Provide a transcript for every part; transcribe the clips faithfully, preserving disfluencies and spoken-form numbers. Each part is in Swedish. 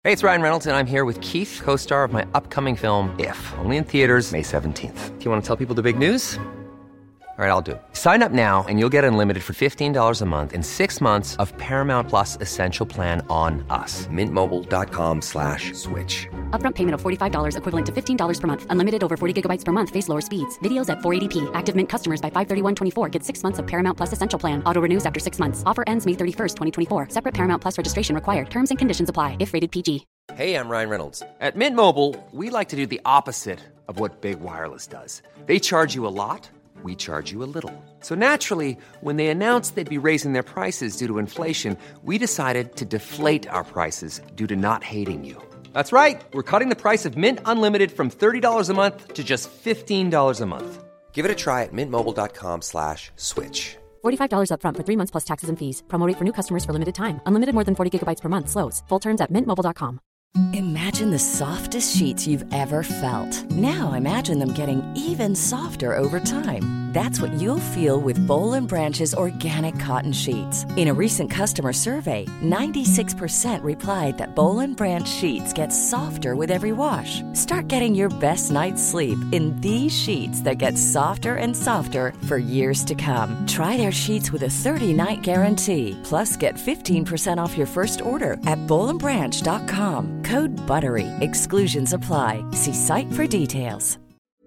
Hey, it's Ryan Reynolds, and I'm here with Keith, co-star of my upcoming film, If, only in theaters May seventeenth. Do you want to tell people the big news? All right, I'll do it. Sign up now and you'll get unlimited for fifteen dollars a month and six months of Paramount Plus Essential Plan on us. Mint Mobile dot com slash switch. Upfront payment of forty-five dollars equivalent to fifteen dollars per month. Unlimited over forty gigabytes per month. Face lower speeds. Videos at four eighty p. Active Mint customers by five thirty-one twenty-four get six months of Paramount Plus Essential Plan. Auto renews after six months. Offer ends May thirty-first, twenty twenty-four. Separate Paramount Plus registration required. Terms and conditions apply if rated P G. Hey, I'm Ryan Reynolds. At Mint Mobile, we like to do the opposite of what Big Wireless does. They charge you a lot. We charge you a little. So naturally, when they announced they'd be raising their prices due to inflation, we decided to deflate our prices due to not hating you. That's right. We're cutting the price of Mint Unlimited from thirty dollars a month to just fifteen dollars a month. Give it a try at mintmobile.com slash switch. forty-five dollars upfront for three months plus taxes and fees. Promo rate for new customers for limited time. Unlimited more than forty gigabytes per month. Slows full terms at mint mobile dot com. Imagine the softest sheets you've ever felt. Now imagine them getting even softer over time. That's what you'll feel with Boll and Branch's organic cotton sheets. In a recent customer survey, ninety-six percent replied that Boll and Branch sheets get softer with every wash. Start getting your best night's sleep in these sheets that get softer and softer for years to come. Try their sheets with a thirty-night guarantee. Plus, get fifteen percent off your first order at boll and branch dot com. Code BUTTERY. Exclusions apply. See site for details.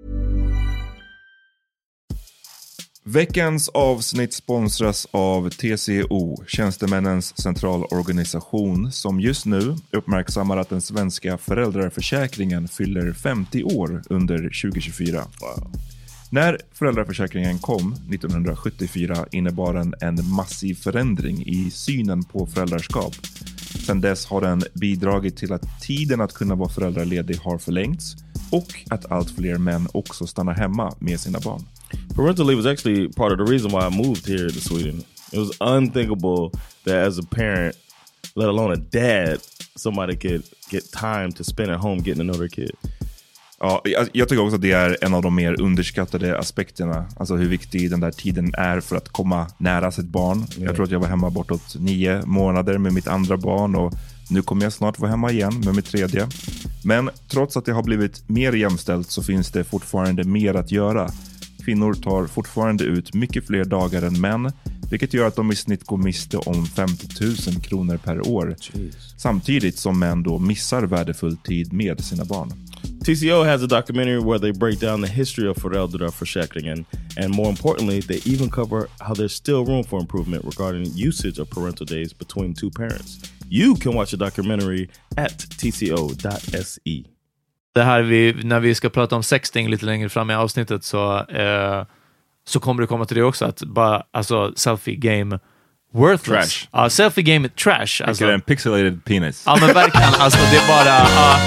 Veckans avsnitt sponsras av T C O, Tjänstemännens centralorganisation, som just nu uppmärksammar att den svenska föräldraförsäkringen fyller femtio år under tjugo tjugofyra. Wow. När föräldraförsäkringen kom nittonhundrasjuttiofyra innebar den en massiv förändring i synen på föräldraskap. Sedan dess har den bidragit till att tiden att kunna vara föräldraledig har förlängts och att allt fler män också stannar hemma med sina barn. Parental leave was actually part of the reason why I moved here to Sweden. It was unthinkable that as a parent, let alone a dad, somebody could get time to spend at home getting to know their kid. Ja, jag, jag tycker också att det är en av de mer underskattade aspekterna. Alltså hur viktig den där tiden är för att komma nära sitt barn. Yeah. Jag tror att jag var hemma bortåt nio månader med mitt andra barn och nu kommer jag snart vara hemma igen med mitt tredje. Men trots att det har blivit mer jämställt så finns det fortfarande mer att göra. Kvinnor tar fortfarande ut mycket fler dagar än män, vilket gör att de i snitt går miste om femtio tusen kronor per år. Jeez. Samtidigt som män då missar värdefull tid med sina barn. T C O has a documentary where they break down the history of föräldraförsäkringen, and more importantly, they even cover how there's still room for improvement regarding usage of parental days between two parents. You can watch the documentary at t c o dot s e. Det här vi, när vi ska prata om sexting lite längre fram i avsnittet så, eh, så kommer det komma till det också att bara, alltså, selfie game worthless. Trash. Ja, selfie game är trash. Alltså. Det är en pixelated penis. Ja, men verkligen. Alltså, det är bara... Uh,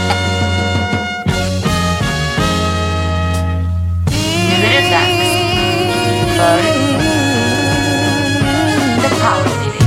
Nu är det dags för The Power Meeting.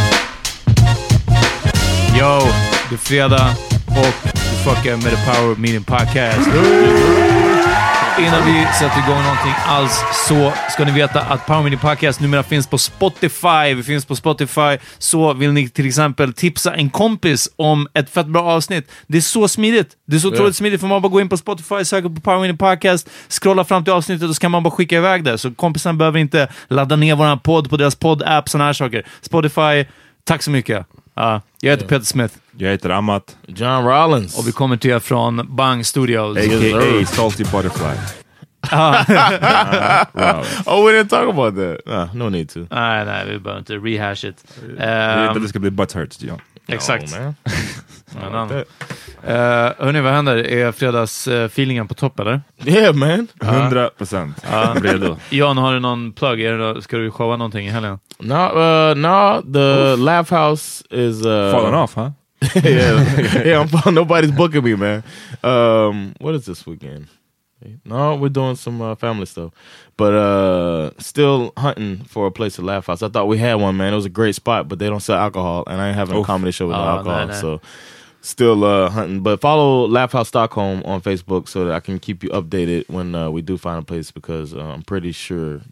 Yo, det är fredag och du fuckar med The Power Meeting Podcast. Innan vi sätter igång någonting alls så ska ni veta att Power Meeting Podcast numera finns på Spotify. Vi finns på Spotify, så vill ni till exempel tipsa en kompis om ett fett bra avsnitt. Det är så smidigt. Det är så otroligt yeah. smidigt för man bara gå in på Spotify, söka på Power Meeting Podcast, scrolla fram till avsnittet och så kan man bara skicka iväg det. Så kompisen behöver inte ladda ner våran podd på deras podd-app, såna här saker. Spotify, tack så mycket. Uh, jag heter yeah. Peter Smith. Jag heter Amat. John Rollins. Och vi kommer till er från Bang Studios. A K A Salty Butterfly. uh, oh, we didn't talk about that. Uh, no need to. Nej, nej, vi behöver inte rehash it. Um, det är inte att det ska bli butthurt, John. Exakt. Oh, man. like uh, hörni, vad händer? Är fredagsfeelingen uh, på topp, eller? Yeah, man. hundra procent. Uh, Jan, har du någon plugg? Är det, ska du showa någonting i helgen? No, uh, no, the Oof. Laugh House is... Uh, Fallen off, huh? yeah, yeah, I'm, nobody's booking me, man. Um, what is this weekend? No, we're doing some uh, family stuff, but uh, still hunting for a place to laugh house. I thought we had one, man. It was a great spot, but they don't sell alcohol, and I ain't having Oof. a comedy show with oh, no alcohol, no, no. so still uh, hunting. But follow Laugh House Stockholm on Facebook so that I can keep you updated when uh, we do find a place, because uh, I'm pretty sure that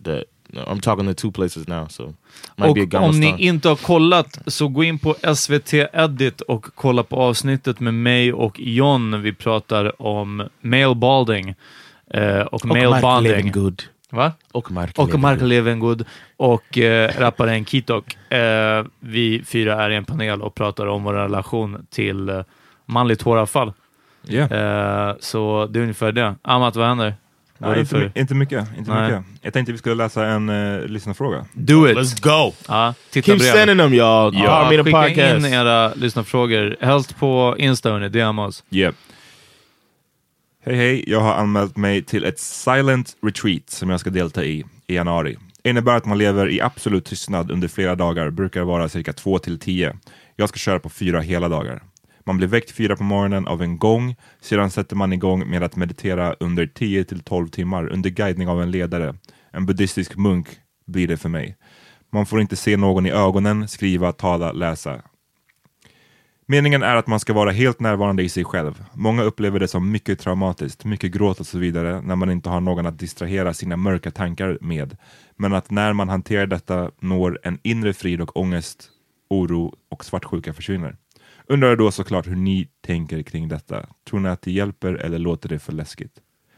I'm talking to two places now, so might Och be a Gamma om ni Stan. inte har kollat, så gå in på S V T Edit och kolla på avsnittet med mig och John. Vi pratar om male balding eh, och, och male bonding. Good. Va? Och Mark Och Mark Levengood och eh, rapparen Kitok. Eh, vi fyra är i en panel och pratar om vår relation till eh, manligt håravfall. Yeah. Eh, så det är ungefär det. Amat, vad händer? Vad är Nej, det inte, för? my- inte mycket. Inte Nej. mycket. Jag tänkte vi skulle läsa en uh, lyssnarfråga. Do it! Let's go. Ja, titta Keep brev. sending them, y'all. Ja, Power Meter skicka Podcast. in era lyssnarfrågor. Helst på Insta, hörni. D M oss. Yeah. Hej hej, jag har anmält mig till ett silent retreat som jag ska delta i i januari. Det innebär att man lever i absolut tystnad under flera dagar, brukar vara cirka två till tio. Jag ska köra på fyra hela dagar. Man blir väckt fyra på morgonen av en gång, sedan sätter man igång med att meditera under tio till tolv timmar under guidning av en ledare. En buddhistisk munk blir det för mig. Man får inte se någon i ögonen, skriva, tala, läsa. Meningen är att man ska vara helt närvarande i sig själv. Många upplever det som mycket traumatiskt, mycket gråt och så vidare när man inte har någon att distrahera sina mörka tankar med. Men att när man hanterar detta når en inre frid och ångest, oro och svartsjuka försvinner. Undrar då såklart hur ni tänker kring detta. Tror ni att det hjälper eller låter det för läskigt?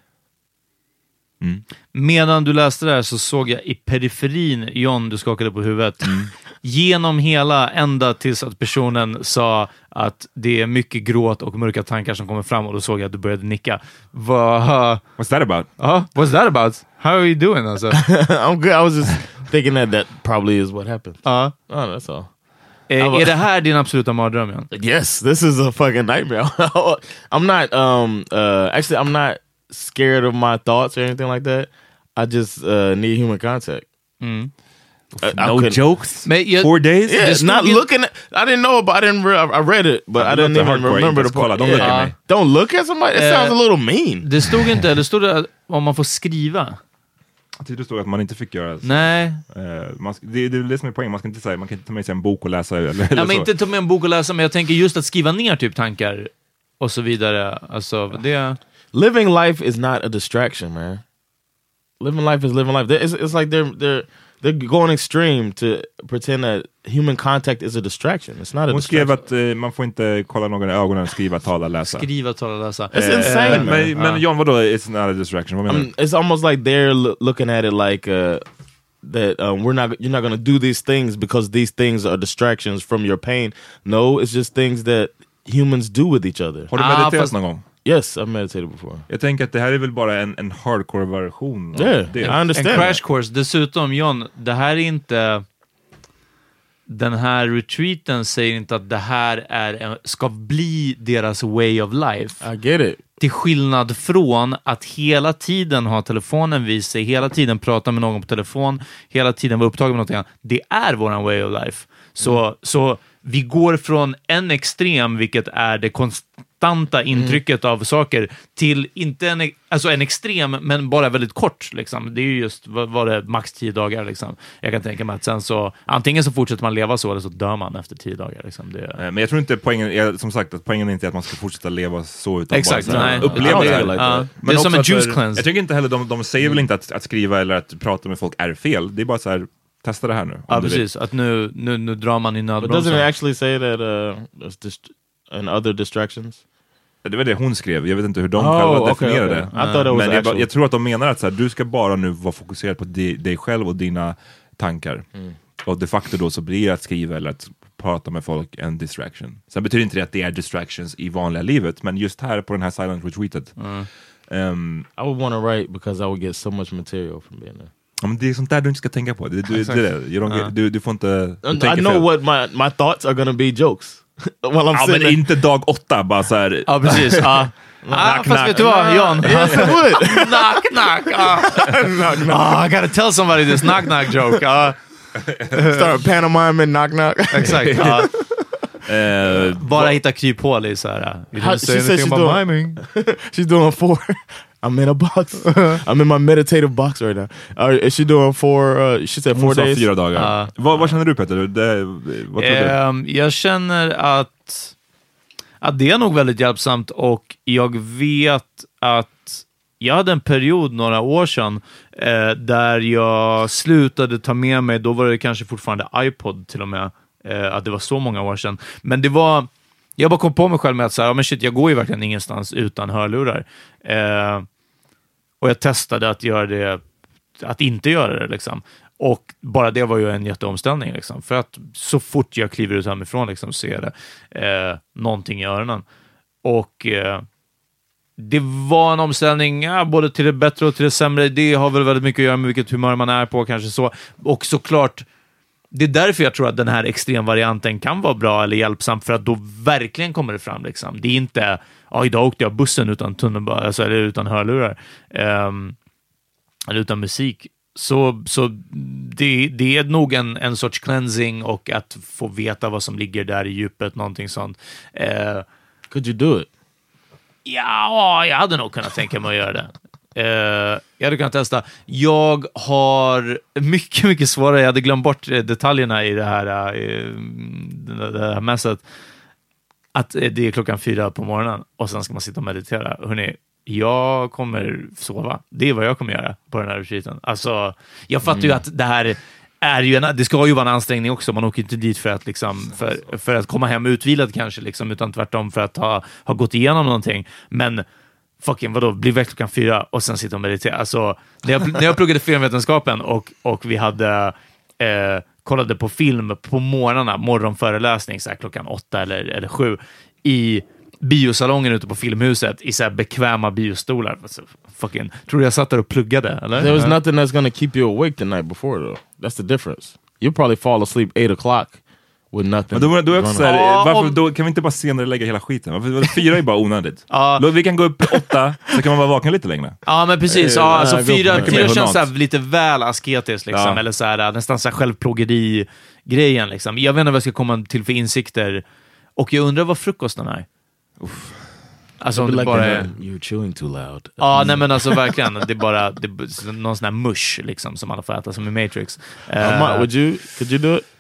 Mm. Medan du läste det här så såg jag i periferin, John, du skakade på huvudet, Mm. genom hela ända tills att personen sa att det är mycket gråt och mörka tankar som kommer fram, och då såg jag att du började nicka. Va? What's that about? Uh, what's that about? How are you doing? Alltså? I'm good. I was just thinking that that probably is what happened. Uh, Oh, that's all. är, är det här din absoluta mardröm, John? Yes, this is a fucking nightmare. I'm not, um, uh, actually, I'm not scared of my thoughts or anything like that. I just uh, need human contact. Mm. Uh, I No couldn't- jokes? Men jag- Four days? Yeah, Det it's stod not ju- looking at, I didn't know about, I didn't, re- I I read it, but Ja, I det didn't låter even hardcore, remember inte the ens kolla, part. don't look Yeah. at me. Don't look at somebody, it Eh, sounds a little mean. Det stod inte, det stod det om man får skriva. Jag tyckte det stod att man inte fick göra så. Nej. Eh, man, ska- det, det är det som är poängen. Man ska inte säga, man kan inte ta med sig en bok och läsa eller, eller Ja, men så. inte ta med en bok och läsa, men jag tänker just att skriva ner typ tankar och så vidare. Alltså, det... Living life is not a distraction, man. Living life is living life. It's, it's like they're they're they're going extreme to pretend that human contact is a distraction. It's not a Hon skrev distraction. att eh, man får inte kolla någon i ögonen, skriva, tala, läsa. Skriva, tala, läsa. It's insane, man. Men, men John, vadå? It's not a distraction. Vad menar I du? mean, it's almost like they're lo- looking at it like uh, that um, we're not you're not going to do these things because these things are distractions from your pain. No, it's just things that humans do with each other. Har du Ah, mediterat fast- någon gång? Yes, I've meditated before. Jag tänker att det här är väl bara en, en hardcore-version av Yeah, det. I En understand. crash that. course. Dessutom, John, det här är inte... Den här retreaten säger inte att det här är en, ska bli deras way of life. I get it. Till skillnad från att hela tiden ha telefonen vid sig, hela tiden prata med någon på telefon, hela tiden vara upptagen med någonting annat. Det är våran way of life. Så, Mm. så vi går från en extrem, vilket är det konstanta intrycket av saker, till inte en, alltså en extrem, men bara väldigt kort. Liksom. Det är ju just, vad var det, max tio dagar. Liksom. Jag kan tänka mig att sen så, antingen så fortsätter man leva så, eller så dör man efter tio dagar. Liksom. Det, Eh, Men jag tror inte poängen är, som sagt, att poängen är inte att man ska fortsätta leva så, utan exakt, bara så här, nej. uppleva Ja, det. det är här. like Ja, that. det är som en också juice för- cleanse. Jag tycker inte heller, de, de säger väl inte att, att skriva eller att prata med folk är fel. Det är bara så här, testa det här nu. om Ja, du vill. precis. Att nu, nu, nu drar man i But doesn't it nödbromsen. actually say that uh, there's dist- and other distractions? Det var det hon skrev. Jag vet inte hur de Oh, själva okay, definierade okay. det. I thought it was Men jag, bara- actual. jag tror att de menar att så här, du ska bara nu vara fokuserad på di, dig själv och dina tankar. Mm. Och de facto då så blir det att skriva eller att prata med folk en distraction. Sen betyder inte det att det är distractions i vanliga livet, men just här på den här silent retreatet. ehm, I would want to write because I would get so much material from being there. ja, men det är sånt där du inte ska tänka på. Det, du, det, är det. You don't get, du, du får inte... Du I tänker know fel. what my, my thoughts are gonna be jokes while I'm Ja, sitting men there. inte dag åtta, bara så här. Ja, precis. Ja. Ah, fast knock. vet du vad, John? Yes, it would. knock, knock. Ah. Ah, I gotta tell somebody this knock, knock joke. Ah, Start pantomiming, knock knock. exakt. Ah. eh, Bara hitta kryphål i så här. You How- didn't say she said anything she's about doing- miming. She's doing four. I'm in a box. I'm in my meditative box right now. Uh, is she doing four? Uh, she said hon four sa days. fyra dagar. Ja. vad, vad känner du, Peter? Det, vad tror du? Ehm, jag känner att, att det är nog väldigt hjälpsamt, och jag vet att jag hade en period några år sedan eh, där jag slutade ta med mig, då var det kanske fortfarande iPod till och med, eh, att det var så många år sedan. Men det var, jag bara kom på mig själv med att så här, ja, men shit, jag går ju verkligen ingenstans utan hörlurar. Eh, och jag testade att göra det, att inte göra det liksom. Och bara det var ju en jätteomställning liksom. För att så fort jag kliver ut hemifrån liksom, så är det eh, någonting i öronen. Och eh, det var en omställning, ja, både till det bättre och till det sämre. Det har väl väldigt mycket att göra med vilket humör man är på, kanske så. Och såklart, det är därför jag tror att den här extremvarianten kan vara bra eller hjälpsam, för att då verkligen kommer det fram liksom. Det är inte, ja, idag åkte jag bussen utan tunnelbana, alltså, eller utan hörlurar. Um, eller utan musik. Så, så det, det är nog en, en sorts cleansing, och att få veta vad som ligger där i djupet, någonting sånt. Uh, Could you do it? Ja, jag hade nog kunnat tänka mig att göra det. Uh, jag hade kunnat testa. Jag har mycket, mycket svårare. Jag hade glömt bort detaljerna i det här, uh, det här mässet. Att det är klockan fyra på morgonen och sen ska man sitta och meditera. Hörrni, jag kommer sova. Det är vad jag kommer göra på den här retreaten. Alltså, jag fattar mm. ju att det här är ju en, det ska ju vara en ansträngning också. Man åker inte dit för att liksom, för, för att komma hem utvilad kanske liksom, utan tvärtom för att ha, ha gått igenom någonting. Men fucking vadå, bli väck klockan fyra och sen sitta och meditera. Alltså, när jag, när jag pluggade filmvetenskapen och, och vi hade eh, kollade på film på morgnarna, morgonföreläsning så här klockan åtta eller, eller sju i biosalongen ute på Filmhuset i så här bekväma biostolar. Alltså, fucking, tror du jag satt där och pluggade, eller? There was nothing that's gonna keep you awake the night before though. That's the difference. You'll probably fall asleep eight o'clock with nothing. Men då, då är också så här, Ja, varför, om- då kan vi inte bara senare lägga hela skiten? Varför, fyra är bara onödigt. Ja. Då, vi kan gå upp åtta, så kan man vara vaken lite längre. Ja, men precis. Eh, Ja, alltså, nej, gå fyra, på det. fyra Med känns så här mat. lite väl asketiskt, liksom. Ja. Eller så här, nästan så här självplågeri-grejen. Liksom. Jag vet inte vad jag ska komma till för insikter. Och jag undrar vad frukosten är. Alltså, om Be det like bara uh, är... you're chewing too loud. Ja, nej men alltså verkligen. Det är bara det är någon sån här mush liksom, som alla får äta, som i Matrix. Uh, Eh, Ma- would you? Could you do it?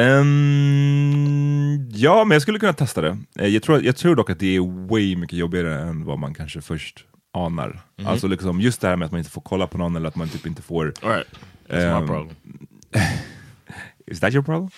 Ehm, ja, men jag skulle kunna testa det. Eh, Jag tror, jag tror dock att det är way mycket jobbigare än vad man kanske först anar. Alltså liksom just det här med att man inte får kolla på någon, eller att man typ inte får... All right. That's ehm, my problem. Is that your problem?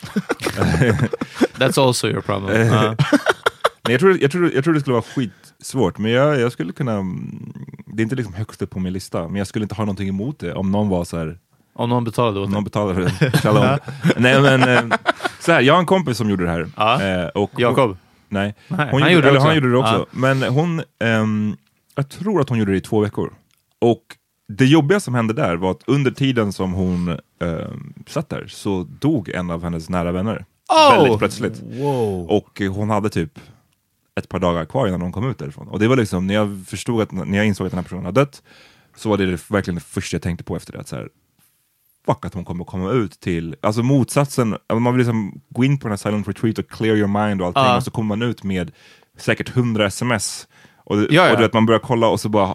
That's also your problem. Ja. Nej, jag, tror, jag, tror, jag tror det skulle vara skitsvårt, men jag, jag skulle kunna... mm, Det är inte liksom högst upp på min lista, men jag skulle inte ha någonting emot det om någon var så här... Om någon betalade åt Om det. någon betalade det. Shalom. Nej, men eh, så här, jag har en kompis som gjorde det här. Ja. Eh, och Jakob. Nej, Nej, hon han gjorde, gjorde det eller också. han gjorde det också. Ja. Men hon, ehm, jag tror att hon gjorde det i två veckor. Och det jobbiga som hände där var att under tiden som hon ehm, satt där så dog en av hennes nära vänner. Oh! Väldigt plötsligt. Whoa. Och hon hade typ ett par dagar kvar innan hon kom ut därifrån. Och det var liksom, när jag förstod att, när jag insåg att den här personen hade dött, så var det, det verkligen det första jag tänkte på efter det. Att så här, fuck, att hon kommer komma ut till, alltså motsatsen, man vill liksom gå in på den här silent retreat och clear your mind och allting, Ja. och så kommer man ut med säkert hundra sms och, Ja, ja. och du vet, man börjar kolla och så bara,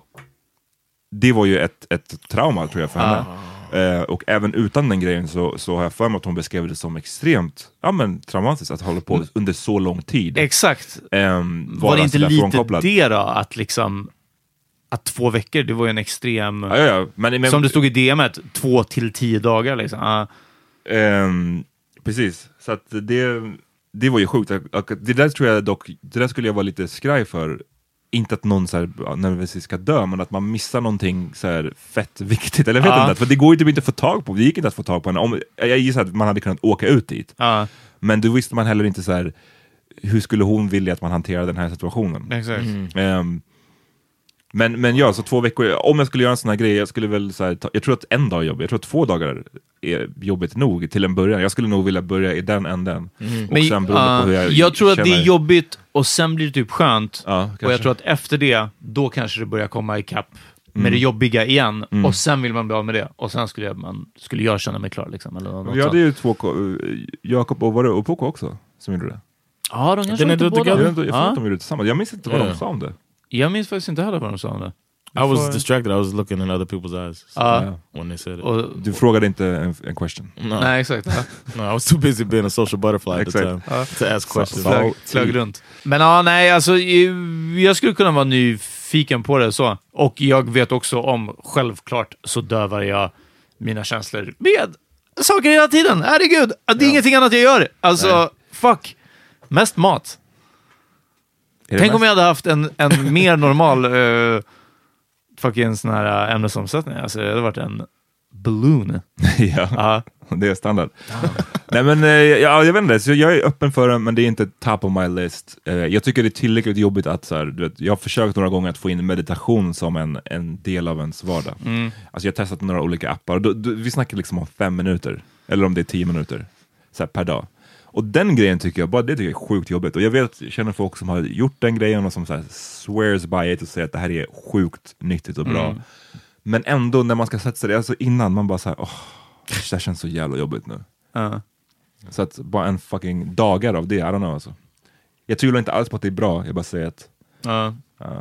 det var ju ett, ett trauma tror jag för henne. Eh, och även utan den grejen så, så har jag för mig att hon beskrev det som extremt, ja men traumatiskt att hålla på under så lång tid. Exakt. Ehm, Var det inte sådär lite frånkopplad. det då? Att liksom... Att två veckor, det var ju en extrem... Ja, ja, ja. Men, men, som det stod i D M:et, två till tio dagar liksom. Ja. Ehm, precis, så att det, det var ju sjukt. Och det där tror jag dock, det där skulle jag vara lite skraj för. Inte att någon så här, när ska dö, men att man missar någonting så här fett viktigt. Eller jag vet Ja. inte, för det går ju typ inte att få tag på. Det gick inte att få tag på henne. Om, jag gissar att man hade kunnat åka ut dit. Ja, Men då visste man heller inte så här, hur skulle hon vilja att man hanterar den här situationen. exakt. Ehm, men, men ja, så två veckor, om jag skulle göra en sån här grej, jag skulle väl så här, ta, jag tror att en dag är jobbigt, jag tror att två dagar är jobbigt nog till en början. Jag skulle nog vilja börja i den änden. Och Men, sen beroende ja, på hur jag jag tror att det känner. är jobbigt och sen blir det typ skönt. Ja, och kanske. jag tror att efter det, då kanske det börjar komma ikapp med det jobbiga igen. Och sen vill man bli av med det. Och sen skulle jag, man, skulle jag känna mig klar. Liksom, eller något Vi hade sånt. ju två, ko- Jakob och var det och Poco också som gjorde det. Ja, de kanske Didn't inte they do it båda. Jag, together? vet inte, jag tror Ja. att de gjorde det tillsammans. Jag minns inte vad Ja. de sa om det. Jag minns faktiskt inte heller vad de sa om det. I was får- distracted. I was looking in other people's eyes so, Ja. when they said it. Och, Du frågade inte en, en question. no, nej, exakt. Ja. no, I was too busy being a social butterfly at the Exact. time to ask questions. So- Flög, flög runt. Men ja, nej, alltså eh, jag skulle kunna vara nyfiken nyfiken på det så. Och jag vet också om, självklart så dövar jag mina känslor med saker hela tiden. Herregud, det är ja. ingenting annat jag gör. Alltså, Nej. fuck. Mest mat. Tänk mest? om jag hade haft en, en mer normal uh, fucking sån här ämnesomsättning. Alltså, det hade varit en balloon. Ja, uh. det är standard. Nej, men uh, ja, jag vet inte, så jag är öppen för det, men det är inte top of my list. Uh, jag tycker det är tillräckligt jobbigt att så här, du vet, jag har försökt några gånger att få in meditation som en, en del av ens vardag. Mm. Alltså jag har testat några olika appar. Då, då, vi snackar liksom om fem minuter, eller om det är tio minuter så här, per dag. Och den grejen tycker jag, bara det tycker jag är sjukt jobbigt. Och jag vet, jag känner folk som har gjort den grejen och som så här swears by it och säger att det här är sjukt nyttigt och bra. Mm. Men ändå när man ska sätta sig, alltså innan man bara så här, åh, det här känns så jävla jobbigt nu. Uh. Så att bara en fucking dagar av det, I don't know alltså. Jag tror inte alls på att det är bra, jag bara säger att... Uh. Uh.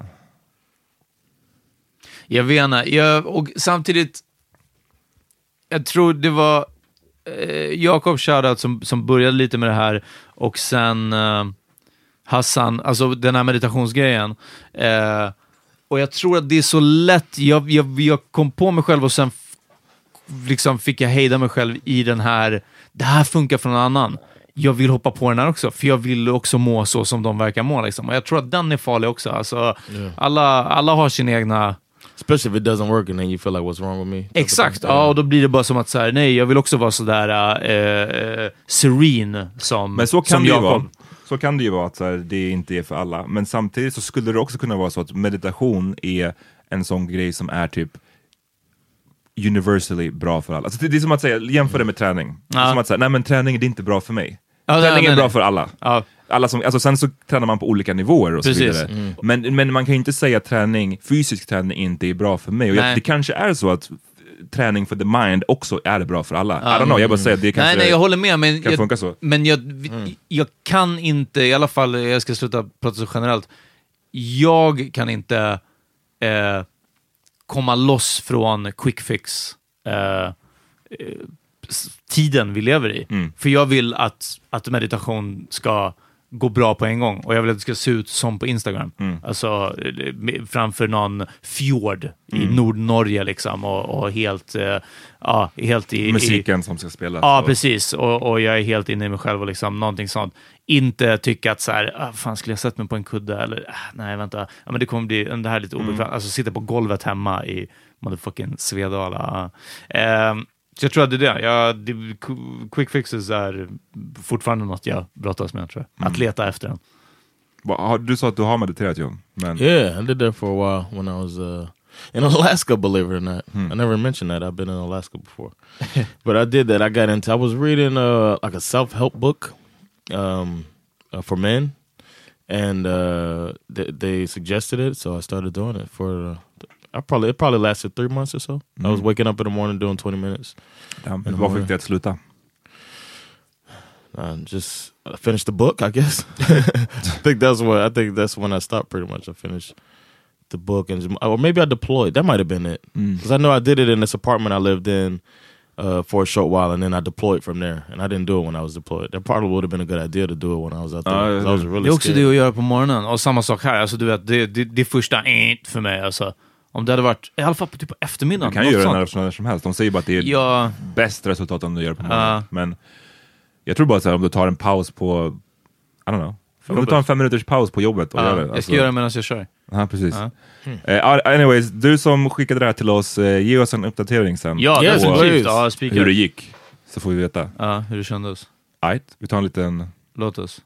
Jag vet inte, jag, och samtidigt, jag tror det var eh, Jakob Shoutout som, som började lite med det här, och sen eh, Hassan, alltså den här meditationsgrejen. Eh, och jag tror att det är så lätt, jag, jag, jag kom på mig själv och sen f- liksom fick jag hejda mig själv i den här, det här funkar för någon annan. Jag vill hoppa på den här också, för jag vill också må så som de verkar må liksom. Och jag tror att den är farlig också. Alltså, yeah. alla, alla har sin egna... Especially if it doesn't work and then you feel like what's wrong with me. Exakt, ja, och då blir det bara som att så här, nej, jag vill också vara sådär uh, uh, serene som, men så kan som det ju Jakob. vara. Så kan det ju vara att så här, det inte är för alla. Men samtidigt så skulle det också kunna vara så att meditation är en sån grej som är typ universally bra för alla. Alltså det, det är som att säga, jämför det med träning. Ja. Det är som att säga, nej men träning det är inte bra för mig. Ja, träning nej, nej, är bra nej. för alla. Ja. Alla som, alltså sen så tränar man på olika nivåer och Precis. så vidare. Mm. Men, men man kan ju inte säga att träning, fysisk träning inte är bra för mig. Och jag, det kanske är så att träning för the mind också är bra för alla. Mm. I don't know, jag bara säger att det kanske nej, nej, jag håller med, men kan jag, funka så. Men jag, mm. jag kan inte, i alla fall, jag ska sluta prata så generellt, jag kan inte eh, komma loss från quick fix eh, tiden vi lever i. Mm. För jag vill att, att meditation ska gå bra på en gång. Och jag vill att det ska se ut som på Instagram. Mm. Alltså framför någon fjord mm. i Nordnorge liksom. Och, och helt, uh, ja, helt i... musiken i, som ska spelas. Ja, och... precis. Och, och jag är helt inne i mig själv och liksom någonting sånt. Inte tycka att så här, ah, fan skulle jag sett mig på en kudde? Eller, ah, nej, vänta. Ja, men det kommer bli, det här är lite obekvämt. Mm. Alltså sitta på golvet hemma i motherfucking Svedala. Uh, Så jag tror att det är det. Jag, det. Quick fixes är fortfarande något jag brottas med, tror jag. Att mm. leta efter den. Du sa att du har mediterat, John. Men... Yeah, I did that for a while when I was uh, in Alaska, believe it or not. Hmm. I never mentioned that. I've been in Alaska before. But I did that. I got into, I was reading uh, like a self-help book um, uh, for men. And uh, th- they suggested it, so I started doing it for... Uh, I probably it probably lasted three months or so. Mm. I was waking up in the morning doing twenty minutes. Damn, and vad fick dig att sluta? Uh, just I finished the book, I guess. I think that's what I think that's when I stopped. Pretty much, I finished the book, and or maybe I deployed. That might have been it, because mm. I know I did it in this apartment I lived in uh, for a short while, and then I deployed from there. And I didn't do it when I was deployed. That probably would have been a good idea to do it when I was out there. Uh, I was really det är också scared. Det att göra på morgonen, och samma sak här. Alltså du vet, det det, det första för mig alltså. Om det hade varit, i alla fall på typ på eftermiddagen. Du kan ju göra det när som helst. De säger bara att det är ja. bäst resultat om du gör det på morgonen. Uh. Men jag tror bara så här, om du tar en paus på, I don't know. Om du tar en fem minuters paus på jobbet och uh. gör det. Alltså. Jag ska göra det medan jag kör. Ja, precis. Uh. Hmm. Uh, anyways, du som skickade det här till oss, uh, ge oss en uppdatering sen. Ja, det är uh, hur det gick. Så får vi veta. Ja, uh, hur det kändes. Right, vi tar en liten... Låt oss.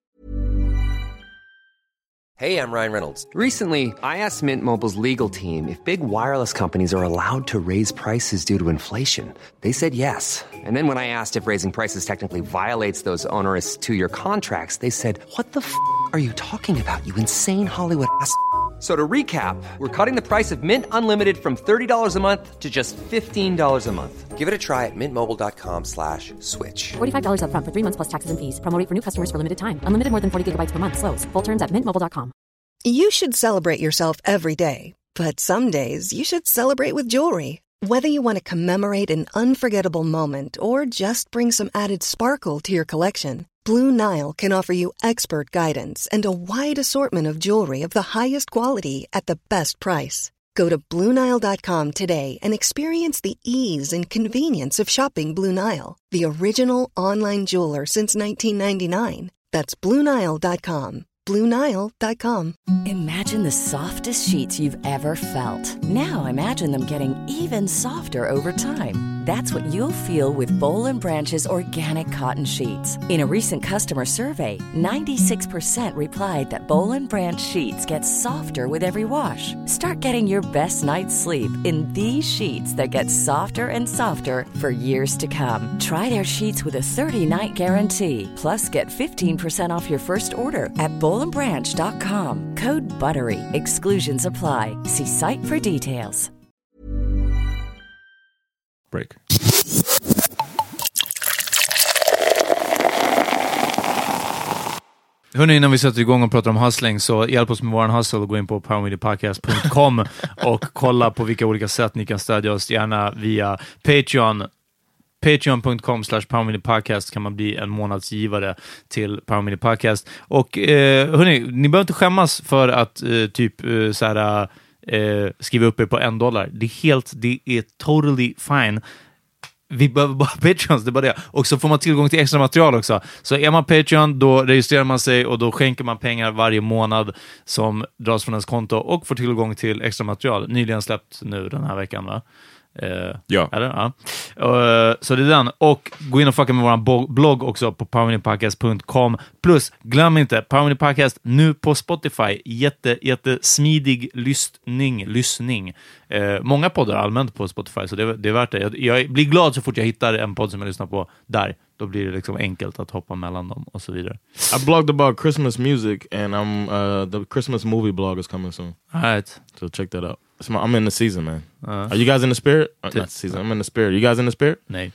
Hey, I'm Ryan Reynolds. Recently, I asked Mint Mobile's legal team if big wireless companies are allowed to raise prices due to inflation. They said yes. And then when I asked if raising prices technically violates those onerous two-year contracts, they said, what the f*** are you talking about, you insane Hollywood ass f- So to recap, we're cutting the price of Mint Unlimited from thirty dollars a month to just fifteen dollars a month. Give it a try at mintmobile.com slash switch. forty-five dollars up front for three months plus taxes and fees. Promo rate for new customers for limited time. Unlimited more than forty gigabytes per month. Slows full terms at mint mobile dot com. You should celebrate yourself every day. But some days you should celebrate with jewelry. Whether you want to commemorate an unforgettable moment or just bring some added sparkle to your collection, Blue Nile can offer you expert guidance and a wide assortment of jewelry of the highest quality at the best price. Go to Blue Nile dot com today and experience the ease and convenience of shopping Blue Nile, the original online jeweler since nineteen ninety-nine. That's Blue Nile dot com. Blue Nile dot com. Imagine the softest sheets you've ever felt. Now imagine them getting even softer over time. That's what you'll feel with Boll and Branch's organic cotton sheets. In a recent customer survey, ninety-six percent replied that Boll and Branch sheets get softer with every wash. Start getting your best night's sleep in these sheets that get softer and softer for years to come. Try their sheets with a thirty-night guarantee. Plus, get fifteen percent off your first order at boll and branch dot com. Code BUTTERY. Exclusions apply. See site for details. Break. Hörrni, innan vi sätter igång och pratar om hustling, så hjälp oss med våran hustle och gå in på power media podcast dot com och kolla på vilka olika sätt ni kan stödja oss, gärna via Patreon. Patreon dot com slash Power Media Podcast kan man bli en månadsgivare till Power Media Podcast. Och eh, hörni, ni behöver inte skämmas för att eh, typ eh, så här, eh, skriva upp er på en dollar. Det är helt, det är totally fine. Vi behöver bara Patreons, det är bara det. Och så får man tillgång till extra material också. Så är man Patreon, då registrerar man sig och då skänker man pengar varje månad som dras från ens konto och får tillgång till extra material. Nyligen släppt nu den här veckan, va? Uh, ja. Eller? Ja. Uh, så det är den. Och gå in och fucka med vår bo- blogg också på power media podcast dot com. Plus, glöm inte, Power Media Podcast nu på Spotify. Jätte, jätte smidig lyssning. lyssning. Uh, många poddar allmänt på Spotify, så det, det är värt det. Jag, jag blir glad så fort jag hittar en podd som jag lyssnar på där. Då blir det liksom enkelt att hoppa mellan dem och så vidare. I blogged about Christmas music and I'm uh, the Christmas movie blog is coming soon. All right. So check that out. It's my, I'm in the season, man. Uh, Are you guys in the spirit? Uh, not season. I'm in the spirit. You guys in the spirit? Nej.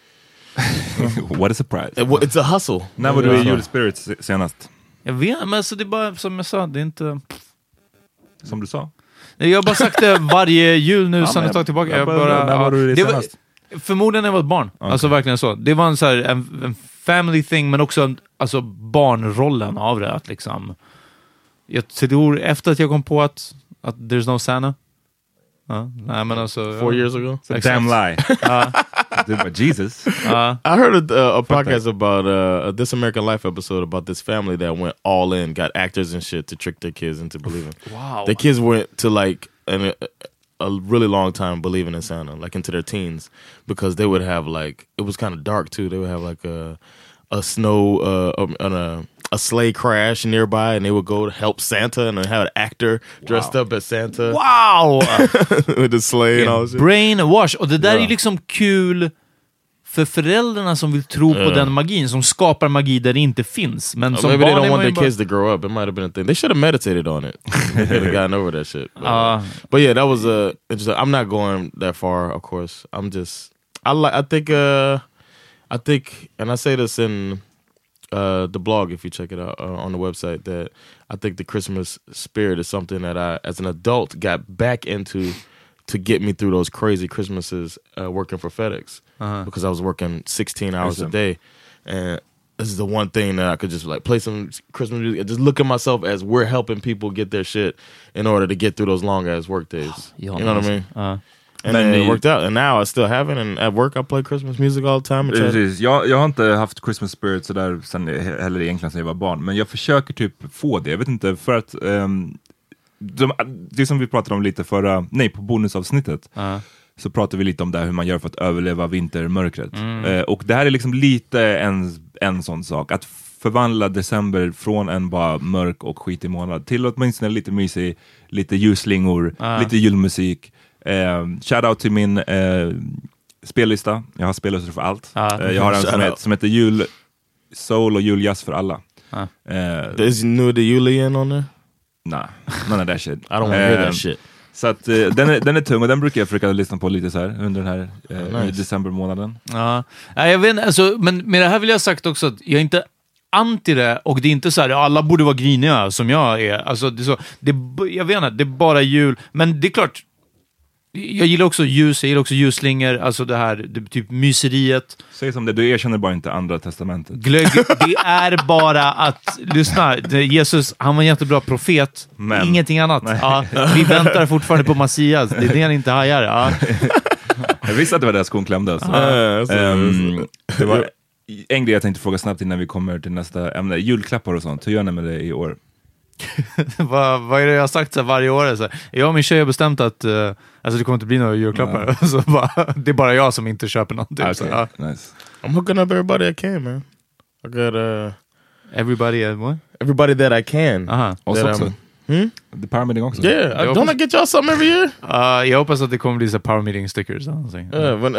What a surprise. It, it's a hustle. När var du i julspirit senast? Jag vet, men alltså det är bara som jag sa, det är inte... Som du sa? Jag har bara sagt det varje jul nu, ja, sen ett tag tillbaka. Jag, jag bara, bara, när var du det, det senast? Var, förmodligen när jag var ett barn. Okay. Alltså verkligen så. Det var en, så här, en, en family thing, men också en, alltså barnrollen av det. Att liksom, jag tror efter att jag kom på att, att there's no Santa. Uh, nej, men alltså, Four ja. years ago? It's a damn lie. uh, Jesus. Uh, I heard a, a podcast about uh, a This American Life episode about this family that went all in, got actors and shit to trick their kids into believing. Wow. The kids went to like an, a, a really long time believing in Santa, like into their teens, because they would have like, it was kind of dark too. They would have like a, a snow, uh, on a, a sleigh crash nearby, and they would go to help Santa and have an actor dressed wow. up as Santa. Wow! With the sleigh and all that. Brainwash. Och det där yeah. är liksom kul för föräldrarna som vill tro yeah. på den magin, som skapar magi där det inte finns. Men som maybe barn they don't want their bara... kids to grow up. It might have been a thing. They should have meditated on it. They could have gotten over that shit. But, uh, but yeah, that was a. Uh, I'm not going that far, of course. I'm just. I like. I think. Uh, I think, and I say this in. Uh, the blog, if you check it out uh, on the website, that I think the Christmas spirit is something that I, as an adult, got back into to get me through those crazy Christmases uh, working for FedEx uh-huh. because I was working sixteen hours awesome. a day, and this is the one thing that I could just like play some Christmas music and just look at myself as we're helping people get their shit in order to get through those long ass work days. You know what I mean? Uh-huh. And then it worked out, and now I still have it, and at work I play Christmas music all the time. Precis. Jag, jag har inte haft Christmas spirit sådär sen, heller egentligen sen jag var barn, men jag försöker typ få det, jag vet inte, för att um, de, det som vi pratade om lite förra, nej på bonusavsnittet uh-huh. så pratade vi lite om det hur man gör för att överleva vintermörkret mm. uh, och det här är liksom lite en, en sån sak, att förvandla december från en bara mörk och skitig månad till åtminstone lite mysig, lite ljusslingor, uh-huh. lite julmusik. Uh, shoutout till min uh, spellista. Jag har spellistor för allt. Ah, uh, jag har en som, het, som heter Jul Soul och Juljazz för alla. Ah. Uh, Is new the Julian on there? Nah, none of that shit. I don't want to hear uh, that shit. Så att uh, den, är, den är tung och den brukar jag försöka lyssna på lite så här under den här uh, nice. decembermånaden. Ja, uh, jag vet alltså, men med det här vill jag sagt också att jag inte anti det, och det är inte så här alla borde vara griniga som jag är. Alltså det är så, det, jag vet inte, det är bara jul, men det är klart. Jag gillar också ljus, jag gillar också ljusslingor, alltså det här, det, typ myseriet. Säg som det, du erkänner bara inte andra testamentet. Glögg, det är bara att, lyssna, Jesus, han var en jättebra profet, men ingenting annat. Ja, vi väntar fortfarande på Messias, det är det han inte hajar. Ja. Jag visste att det var där skon klämde. Alltså. Ah, um, det var en grej jag tänkte fråga snabbt innan vi kommer till nästa ämne. Julklappar och sånt, hur gör ni med det i år? vad, vad är det jag har sagt så här varje år? Så här, jag och min tjej har bestämt att uh, alltså det kommer inte bli några julklappar. Uh. så bara, det är bara jag som inte köper någonting. Okay, så, uh. nice. I'm hooking up everybody I can, man. I got uh, everybody uh, what? Everybody that I can. Aha. Och så också. Hmm? The power meeting också. Yeah, I, don't I get y'all something every year? Uh, jag hoppas att det kommer bli så power meeting stickers. Uh, when,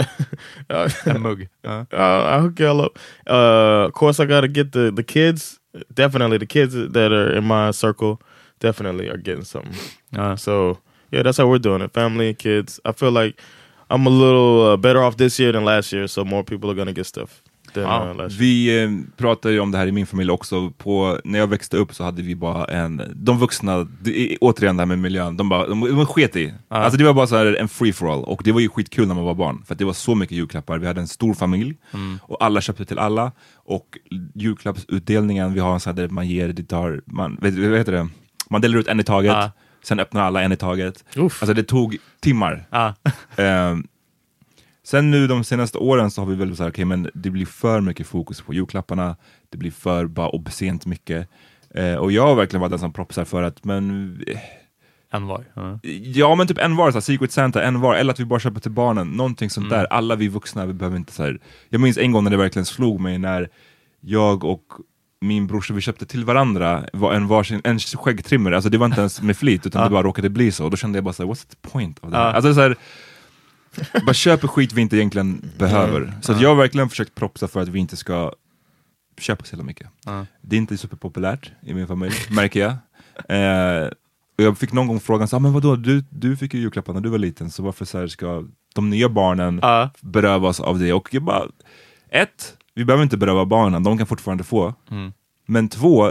en mugg. Uh. Uh, I hook y'all up. Uh, of course I gotta get the, the kids. Definitely the kids that are in my circle definitely are getting something. Uh. So yeah, that's how we're doing it. Family and kids. I feel like I'm a little uh, better off this year than last year, so more people are gonna get stuff. Ja, vi eh, pratade ju om det här i min familj också. På, när jag växte upp så hade vi bara en, de vuxna, det, återigen det här med miljön, de bara, de, de sket i. Ja. Alltså det var bara så här en free for all. Och det var ju skitkul när man var barn, för att det var så mycket julklappar. Vi hade en stor familj mm. och alla köpte till alla. Och julklappsutdelningen, vi har en sån här där man ger, det tar, man, vet, vad heter det? Man delar ut en i taget, ja. Sen öppnar alla en i taget. Uff. Alltså det tog timmar. Ja. um, Sen nu de senaste åren så har vi väl så här, okej, okay, men det blir för mycket fokus på julklapparna. Det blir för bara obscent mycket. Eh, och jag har verkligen varit den som propsar för att, men... Eh, en var. Uh. Ja, men typ en var, så här, Secret Santa, en var. Eller att vi bara köper till barnen. Någonting sånt mm. där. Alla vi vuxna, vi behöver inte så här... Jag minns en gång när det verkligen slog mig när jag och min brorsa, vi köpte till varandra var en varsin, en skäggtrimmare. Alltså det var inte ens med flit, utan uh. det bara råkade bli så. Och då kände jag bara så här, what's the point of that? Uh. Alltså så här... bara köper skit vi inte egentligen behöver. Mm. Så att jag har verkligen försökt propsa för att vi inte ska köpa så mycket. Mm. Det är inte superpopulärt i min familj, märker jag. Eh, och jag fick någon gång frågan så, ah, men vadå, du, du fick ju julklappar när du var liten, så varför så här ska de nya barnen mm. berövas av det? Och jag bara, ett, vi behöver inte beröva barnen, de kan fortfarande få. Mm. Men två,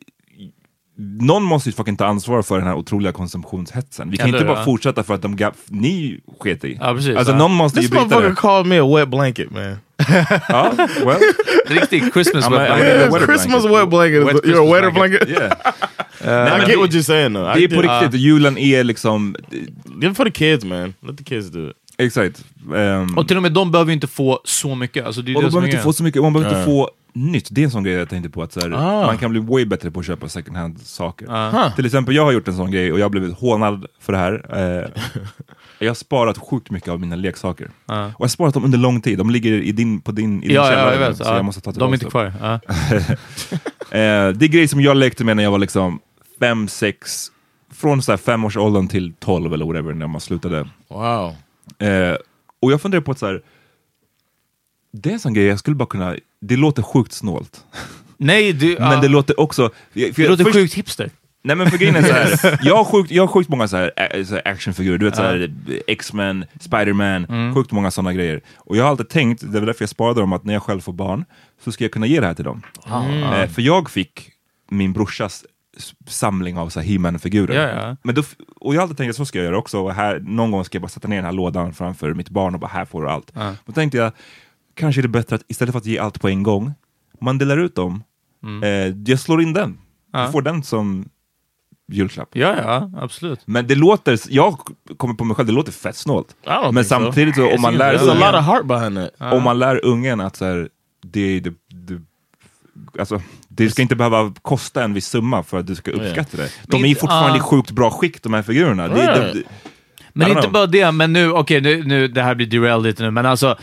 någon måste ju fucking ta ansvar för den här otroliga konsumtionshetsen. Vi kan Eller, inte bara ja. fortsätta för att de gav, ni sket i. Ja, precis, alltså ja. någon måste This ju bryta det. called me a wet blanket, man. Ja, well. Riktigt Christmas I'm wet a, blanket. Yeah, Christmas wet blanket. Wet you're a wetter blanket. blanket. Yeah. uh, I get what you're saying though. Det är på riktigt. Uh, julen är liksom... Give it for the kids, man. Let the kids do it. Exakt. Um, och till och med de behöver ju inte få så mycket. Alltså, det är och det de behöver inte få så mycket. Man behöver uh. inte få nytt. Det är en sån grej jag tänkte på. Att så här, ah. man kan bli way bättre på att köpa second hand saker. Uh. Huh. Till exempel, jag har gjort en sån grej och jag har blivit hånad för det här. Uh, jag har sparat sjukt mycket av mina leksaker. Uh. Och jag har sparat dem under lång tid. De ligger i din, på din, i din ja, källare. Ja, jag vet. Så uh. jag måste ta de är inte kvar. Uh. uh, det är grejer som jag lekte med när jag var liksom fem, sex, från så här fem års åldern till tolv eller whatever när man slutade. Wow. Uh, och jag funderar på att så här, det är en sån grej jag skulle bara kunna, det låter sjukt snålt. Nej, du, uh, men det låter också, för det jag, låter först, sjukt hipster. Nej, men för grejen är så här, jag har sjukt, jag har sjukt många så här, så här actionfigurer, du vet uh. så här X-Men, Spider-Man, mm. sjukt många sådana grejer. Och jag har alltid tänkt, det var därför jag sparade dem, att när jag själv får barn så ska jag kunna ge det här till dem. Mm. Eh, för jag fick min brorsas samling av så här He-Man-figurer. Ja, ja. Men då, och jag har alltid tänkt att så ska jag göra också. Och här, någon gång ska jag bara sätta ner den här lådan framför mitt barn och bara, här får du allt. Ja. Då tänkte jag, kanske är det bättre att istället för att ge allt på en gång, man delar ut dem. Mm. Eh, jag slår in den. Ja. Du får den som julklapp. Ja, ja, absolut. Men det låter, jag kommer på mig själv, det låter fett snålt. Men samtidigt så, om man lär There's ungen, a lot of heart behind it. Om man lär ungen att så här, det, det, det alltså, det ska inte behöva kosta en viss summa för att du ska uppskatta det. De är ju fortfarande i uh. sjukt bra skick, de här figurerna. Det, det, det, men inte know. bara det, men nu, okej, okay, nu, nu, det här blir derailed lite nu, men alltså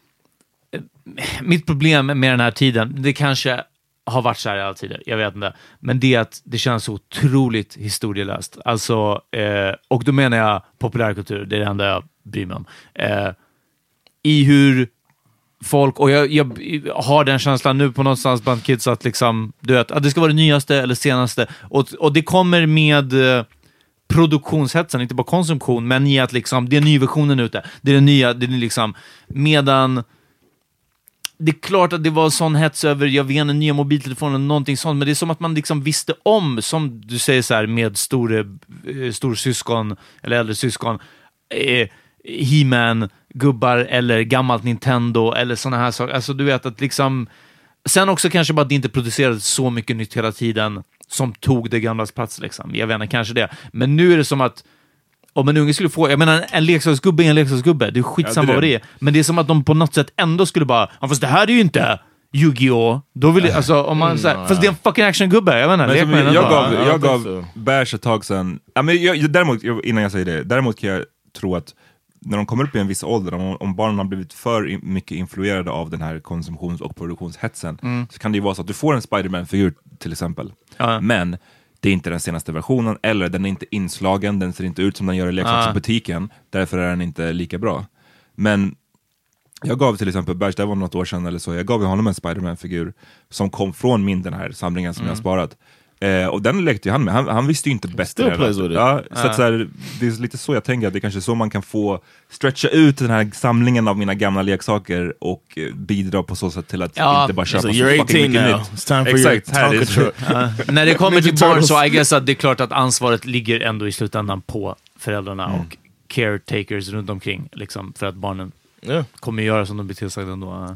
mitt problem med den här tiden, det kanske har varit så här i alla tider, jag vet inte, men det är att det känns så otroligt historielöst. Alltså, eh, och då menar jag populärkultur, det är det enda jag bryr mig om. Eh, I hur folk, och jag, jag har den känslan nu på någonstans bland kids att liksom, du vet, att det ska vara det nyaste eller senaste, och, och det kommer med eh, produktionshetsen, inte bara konsumtion, men i att liksom, det är nyversionen ute, det är det nya, det är liksom, medan det är klart att det var sån hets över, jag vet en nya mobiltelefonen, någonting sånt, men det är som att man liksom visste om, som du säger så här, med store, stor syskon eller äldre syskon, eh, He-Man gubbar eller gammalt Nintendo eller såna här saker. Alltså du vet att liksom sen också kanske bara att det inte producerades så mycket nytt hela tiden som tog det gamlas plats liksom. Jag vet inte, kanske det. Men nu är det som att om en unge skulle få, jag menar en leksaksgubbe är en leksaksgubbe, det är skitsamma ja, vad det är. Men det är som att de på något sätt ändå skulle bara, ja, fast det här är ju inte Yu-Gi-Oh! Då vill jag, alltså om man såhär, fast det är en fucking actiongubbe, jag vet inte. Men jag, jag gav, jag gav Bärs ett tag sedan, ja, men jag, däremot, innan jag säger det, däremot kan jag tro att när de kommer upp i en viss ålder, om, om barnen har blivit för mycket influerade av den här konsumtions- och produktionshetsen, mm. så kan det ju vara så att du får en Spider-Man-figur till exempel. Ja. Men det är inte den senaste versionen, eller den är inte inslagen, den ser inte ut som den gör i leksaksbutiken, ja. Därför är den inte lika bra. Men jag gav till exempel Bergs, det var något år sedan eller så, jag gav honom en Spider-Man-figur som kom från min den här samlingen som mm. jag har sparat. Eh, och den lekte han med. Han, han visste ju inte bättre. Ja, så att så här, det är lite så jag tänker att det är kanske så man kan få stretcha ut den här samlingen av mina gamla leksaker och eh, bidra på så sätt till att ja, inte bara köpa så you're eighteen now. Nytt. It's time for Exakt, your Tonka truck. uh, när det kommer till barn så I guess att det är klart att ansvaret ligger ändå i slutändan på föräldrarna mm. och caretakers runt omkring liksom, för att barnen yeah. kommer göra som de blir tillsagda ändå. Uh.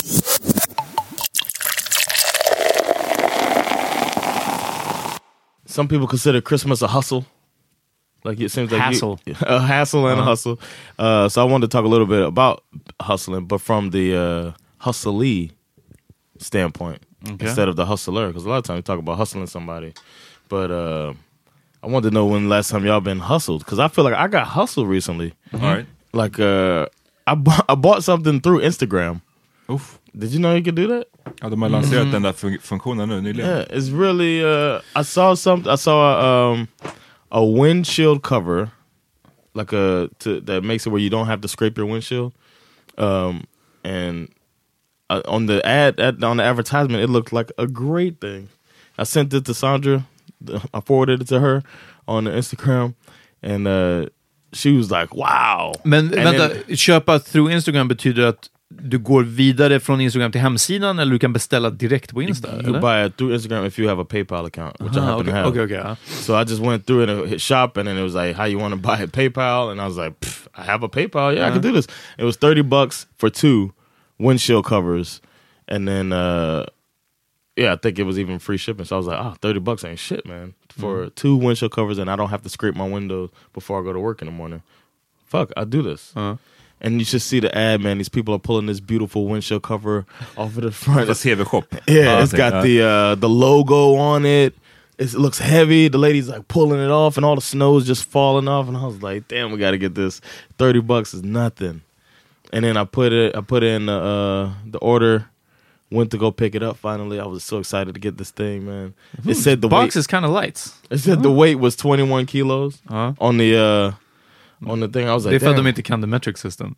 Some people consider Christmas a hustle. Like it seems like hassle. You, a hassle and uh-huh. a hustle. Uh, so I wanted to talk a little bit about hustling, but from the uh, hustlee standpoint okay. instead of the hustler. Because a lot of times we talk about hustling somebody. But uh, I wanted to know when last time y'all been hustled. Because I feel like I got hustled recently. Mm-hmm. All right. Like uh, I, bu- I bought something through Instagram. Oof. Did you know you could do that? Ja, de har lanserat mm-hmm. den där fun- funktionen nu nyligen. Yeah, it's really uh, I saw something I saw a, um, a windshield cover like a to, that makes it where you don't have to scrape your windshield. Um, and uh, on the ad, ad on the advertisement it looked like a great thing. I sent it to Sandra. I forwarded it to her on the Instagram and uh, she was like, wow. Men and vänta, then, köpa through Instagram betyder att du går vidare från Instagram till hemsidan eller du kan beställa direkt på Insta? You, you buy it through Instagram if you have a PayPal account, which uh-huh, I happen okay, to have. Okay, okay. Uh. So I just went through it and hit shop, and then it was like, how you want to buy a PayPal? And I was like, I have a PayPal. Yeah, uh-huh. I can do this. It was thirty bucks for two windshield covers. And then, uh, yeah, I think it was even free shipping. So I was like, oh, thirty bucks ain't shit, man. For mm. two windshield covers, and I don't have to scrape my windows before I go to work in the morning. Fuck, I do this. Uh-huh. And you should see the ad, man. These people are pulling this beautiful windshield cover off of the front. Let's hear shop. Yeah, it's got the uh, the logo on it. It looks heavy. The lady's like pulling it off, and all the snow's just falling off. And I was like, damn, we got to get this. Thirty bucks is nothing. And then I put it. I put in the uh, the order. Went to go pick it up. Finally, I was so excited to get this thing, man. Mm-hmm. It said the box weight, is kind of light. It said uh-huh. the weight was twenty-one kilos uh-huh. on the. Uh, On the thing, I was like, they thought they can the metric system.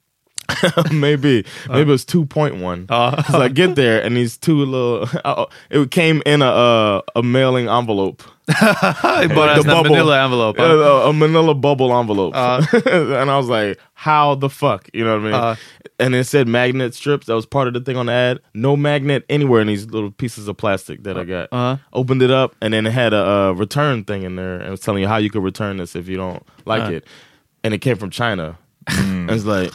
maybe, uh. maybe it was two point one. Uh. So I get there, and these two little. Uh, it came in a uh, a mailing envelope. But the bubble, manila envelope. Huh? Uh, a manila bubble envelope. Uh. And I was like, how the fuck? You know what I mean? Uh. And it said magnet strips. That was part of the thing on the ad. No magnet anywhere in these little pieces of plastic that I got. Uh. Opened it up, and then it had a, a return thing in there, and it was telling you how you could return this if you don't like uh. it. And it came from China. Mm. And it's like,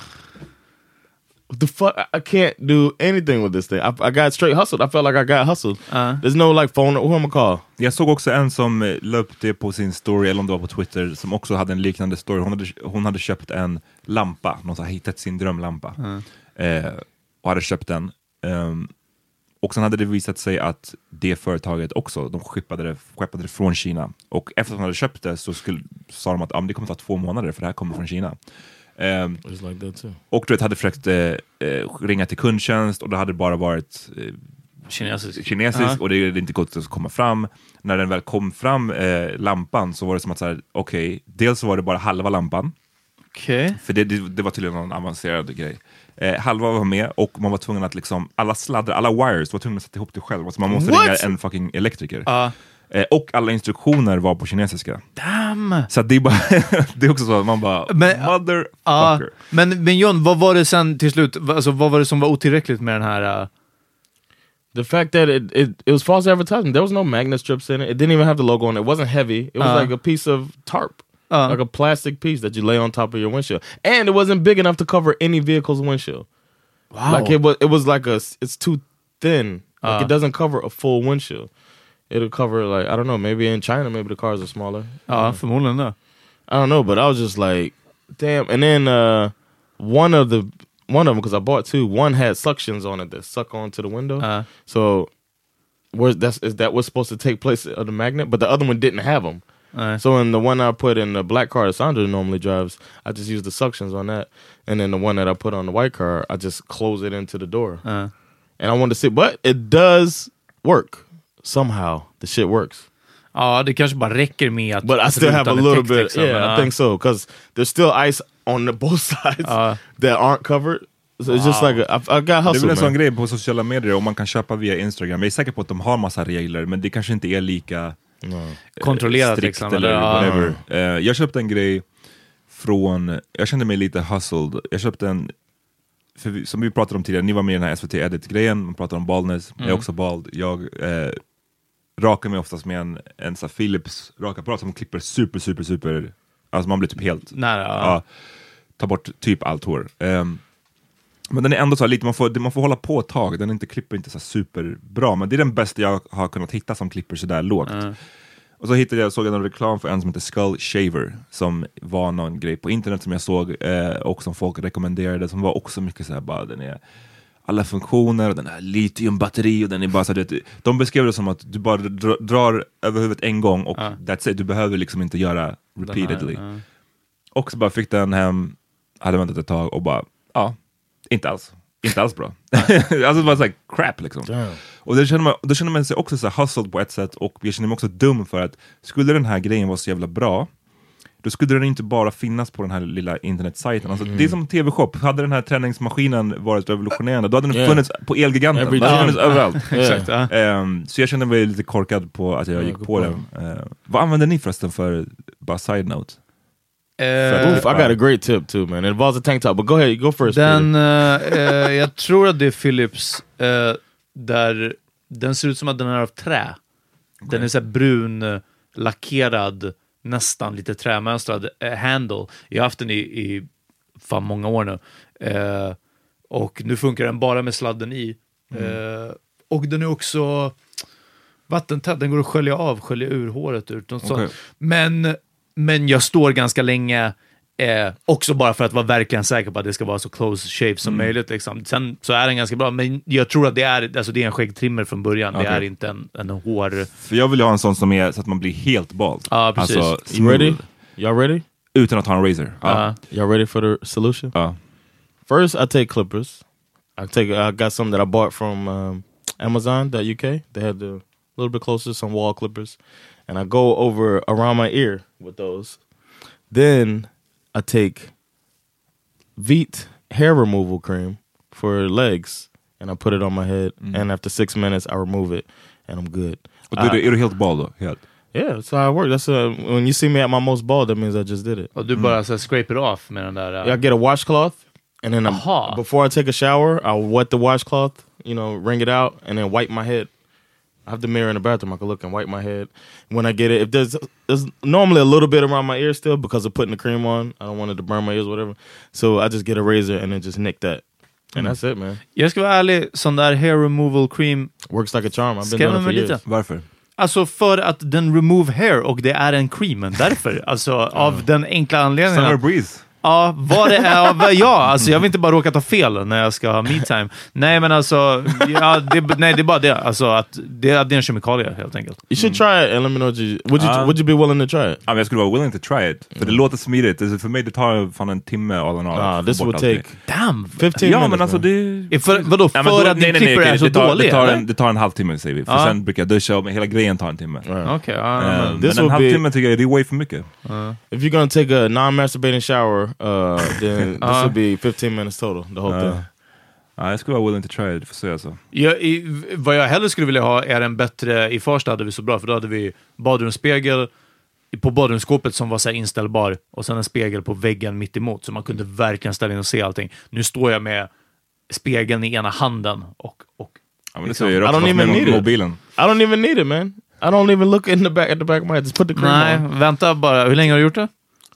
what the fuck? I can't do anything with this thing. I, I got straight hustled. I felt like I got hustled. Uh. There's no like phone. Who am I call? Jag såg också en som la upp det på sin story, eller om det var på Twitter, som också hade en liknande story. Hon hade, hon hade köpt en lampa. Någon hade hittat sin drömlampa. Uh. Eh, och hade köpt den. Um, och sen hade det visat sig att det företaget också, de skeppade det, skeppade det från Kina. Och efter att de hade köpt det så skulle, sa de att ah, det kommer ta två månader för det här kommer från Kina. Um, like that too. Och du vet, hade försökt eh, ringa till kundtjänst och det hade bara varit eh, kinesisk, kinesisk uh-huh. och det hade inte gått att komma fram. När den väl kom fram, eh, lampan, så var det som att okej, okay, dels så var det bara halva lampan. Okay. För det, det, det var tydligen någon avancerad grej. Eh, halva var med och man var tvungen att liksom, alla sladdar, alla wires var tvungna att sätta ihop det själv. Alltså man måste What? ringa en fucking elektriker. Uh. Eh, och alla instruktioner var på kinesiska. Damn! Så det är bara det är också så att man bara men, motherfucker. Uh, men, men John, vad var det sen till slut? Alltså, vad var det som var otillräckligt med den här... Uh... The fact that it, it it was false advertisement. There was no magnet strips in it. It didn't even have the logo on it. It wasn't heavy. It was uh. like a piece of tarp. Uh. Like a plastic piece that you lay on top of your windshield. And it wasn't big enough to cover any vehicle's windshield. Wow. Like it was it was like a it's too thin. Like Uh. it doesn't cover a full windshield. It'll cover like I don't know, maybe in China maybe the cars are smaller. Ja, förmodligen det. I don't know, but I was just like damn. And then uh one of the one of them because I bought two, one had suctions on it that suck onto the window. Uh. So where's that's is that what's supposed to take place of the magnet, but the other one didn't have them. Uh. So in the one I put in the black car that Sandra normally drives, I just use the suctions on that, and then the one that I put on the white car, I just close it into the door. Uh. And I wanted to see, but it does work somehow. The shit works. Ja, det kanske bara räcker med att... But I still have a little bit. Liksom, yeah, I think so because there's still ice on the both sides uh. that aren't covered. So it's just like a, I, I got Det är hustle, väl en sån man. grej på sociala medier och man kan köpa via Instagram. Jag är säker på att de har massa regler, men det kanske inte är lika No. kontrollerat strikt liksom, eller eller, whatever. Uh, jag köpte en grej från, jag kände mig lite hustled. Jag köpte en, för vi, som vi pratade om tidigare, ni var med i den här S V T Edit-grejen, man pratade om baldness, mm. jag är också bald. Jag eh, rakar mig oftast med en, en sån Philips rakapparat som klipper super, super, super, alltså man blir typ helt, nära, ja. ja, ta bort typ allt hår. Um, men den är ändå så här lite, man får, man får hålla på ett tag, den inte klipper inte så superbra, men det är den bästa jag har kunnat hitta som klipper så där lågt. Mm. Och så hittade jag, såg jag en reklam för en som heter Skull Shaver, som var någon grej på internet som jag såg eh, och som folk rekommenderade, som var också mycket så här bara, den är alla funktioner, den är litiumbatteri och den är bara så här, det, de beskrev det som att du bara drar, drar över huvudet en gång och uh. that's it, du behöver liksom inte göra repeatedly. Här, uh. Och så bara fick den hem, hade väntat ett tag och bara, ja, inte alls. Inte alls bra. Alltså det var såhär crap liksom. Damn. Och då känner, man, då känner man sig också så här hustled på ett sätt, och jag känner mig också dum för att skulle den här grejen vara så jävla bra, då skulle den inte bara finnas på den här lilla internetsajten. Alltså, mm. Det är som T V-shop. Hade den här träningsmaskinen varit revolutionerande, då hade den yeah. funnits på Elgiganten. Då hade den funnits överallt. Exakt, ja. um, så jag kände mig lite korkad på att jag yeah, gick på den. Uh, vad använder ni förresten för, bara side note? Uh, Oof, I got a great tip too, man. It involves a tank top, but go ahead, go first. Den, uh, uh, jag tror att det är Philips, uh, där den ser ut som att den är av trä. Okay. Den är så här brun, uh, lackerad, nästan lite trämönstrad uh, handle. Jag har haft den i, i fan många år nu. Uh, och nu funkar den bara med sladden i. Mm. Uh, och den är också vattentät, den går att skölja av, skölja ur håret ur. Okay. Men Men jag står ganska länge eh, också bara för att vara verkligen säker på att det ska vara så close shave som mm. möjligt liksom. Sen så är den ganska bra, men jag tror att det är, alltså det är en skäggtrimmer från början. Okay. Det är inte en, en hår. För jag vill ju ha en sån som är så att man blir helt bald. Ja, precis. Alltså, you ready? Y'all ready? Utan att ha en razor. Uh, uh. Y'all ready for the solution? Uh. First, I take clippers. I take. I got some that I bought from um, Amazon, that U K. They had the little bit closer, some wall clippers. And I go over around my ear with those. Then I take Veet hair removal cream for legs, and I put it on my head. Mm. And after six minutes, I remove it, and I'm good. Och du, är du helt bald då? Helt? Yeah, that's how I work. That's a, when you see me at my most bald, that means I just did it. Och du bara mm. så scrape it off med den där... Uh... I get a washcloth, and then I, before I take a shower, I'll wet the washcloth, you know, wring it out, and then wipe my head. I have the mirror in the bathroom. I can look and wipe my head when I get it. If there's there's normally a little bit around my ear still because of putting the cream on. I don't want it to burn my ears or whatever. So I just get a razor and then just nick that. And mm. that's it, man. Jag ska vara ärlig, sån där hair removal cream works like a charm. I've been doing it for years. Varför? Alltså för att den remove hair och det är en cream. Därför, alltså av den enkla anledningen. Summer breeze. Ja, vad det är, ja, alltså jag vill inte bara råka ta fel när jag ska ha me time. Nej, men alltså, ja, det, nej, det är bara det, alltså att det, det är en kemikalie helt enkelt. You should try it and let me know what you, would you, uh, would you be willing to try it? Ja, men jag skulle vara willing to try it, för mm. det låter smidigt. Alltså, för mig det tar fan en timme all in all. Ah, this would take damn fifteen ja, minutes. Men alltså det... För, vadå, för ja, då, att din klipper är så dålig? Det tar, en, det tar en halvtimme, säger vi. För ah. sen brukar jag duscha och hela grejen tar en timme. Right. Okay, uh, um, men en halvtimme tycker jag det är way för mycket. Uh. If you're gonna take a non-masturbating shower, uh, then this uh. will be fifteen minutes total, the whole uh. thing. Ja, jag skulle vara willing to try it, för så alltså. Ja, i, vad jag hellre skulle vilja ha är en bättre, i första hade vi så bra, för då hade vi badrumsspegel på badrumsskåpet som var så här inställbar, och sen en spegel på väggen mitt emot, så man kunde verkligen ställa in och se allting. Nu står jag med spegeln i ena handen och, och ja, men liksom, det I don't even need mobilen. It. I don't even need it, man. I don't even look in the back at the back of my head. Just put the cream Nej, on. vänta bara. Hur länge har du gjort det?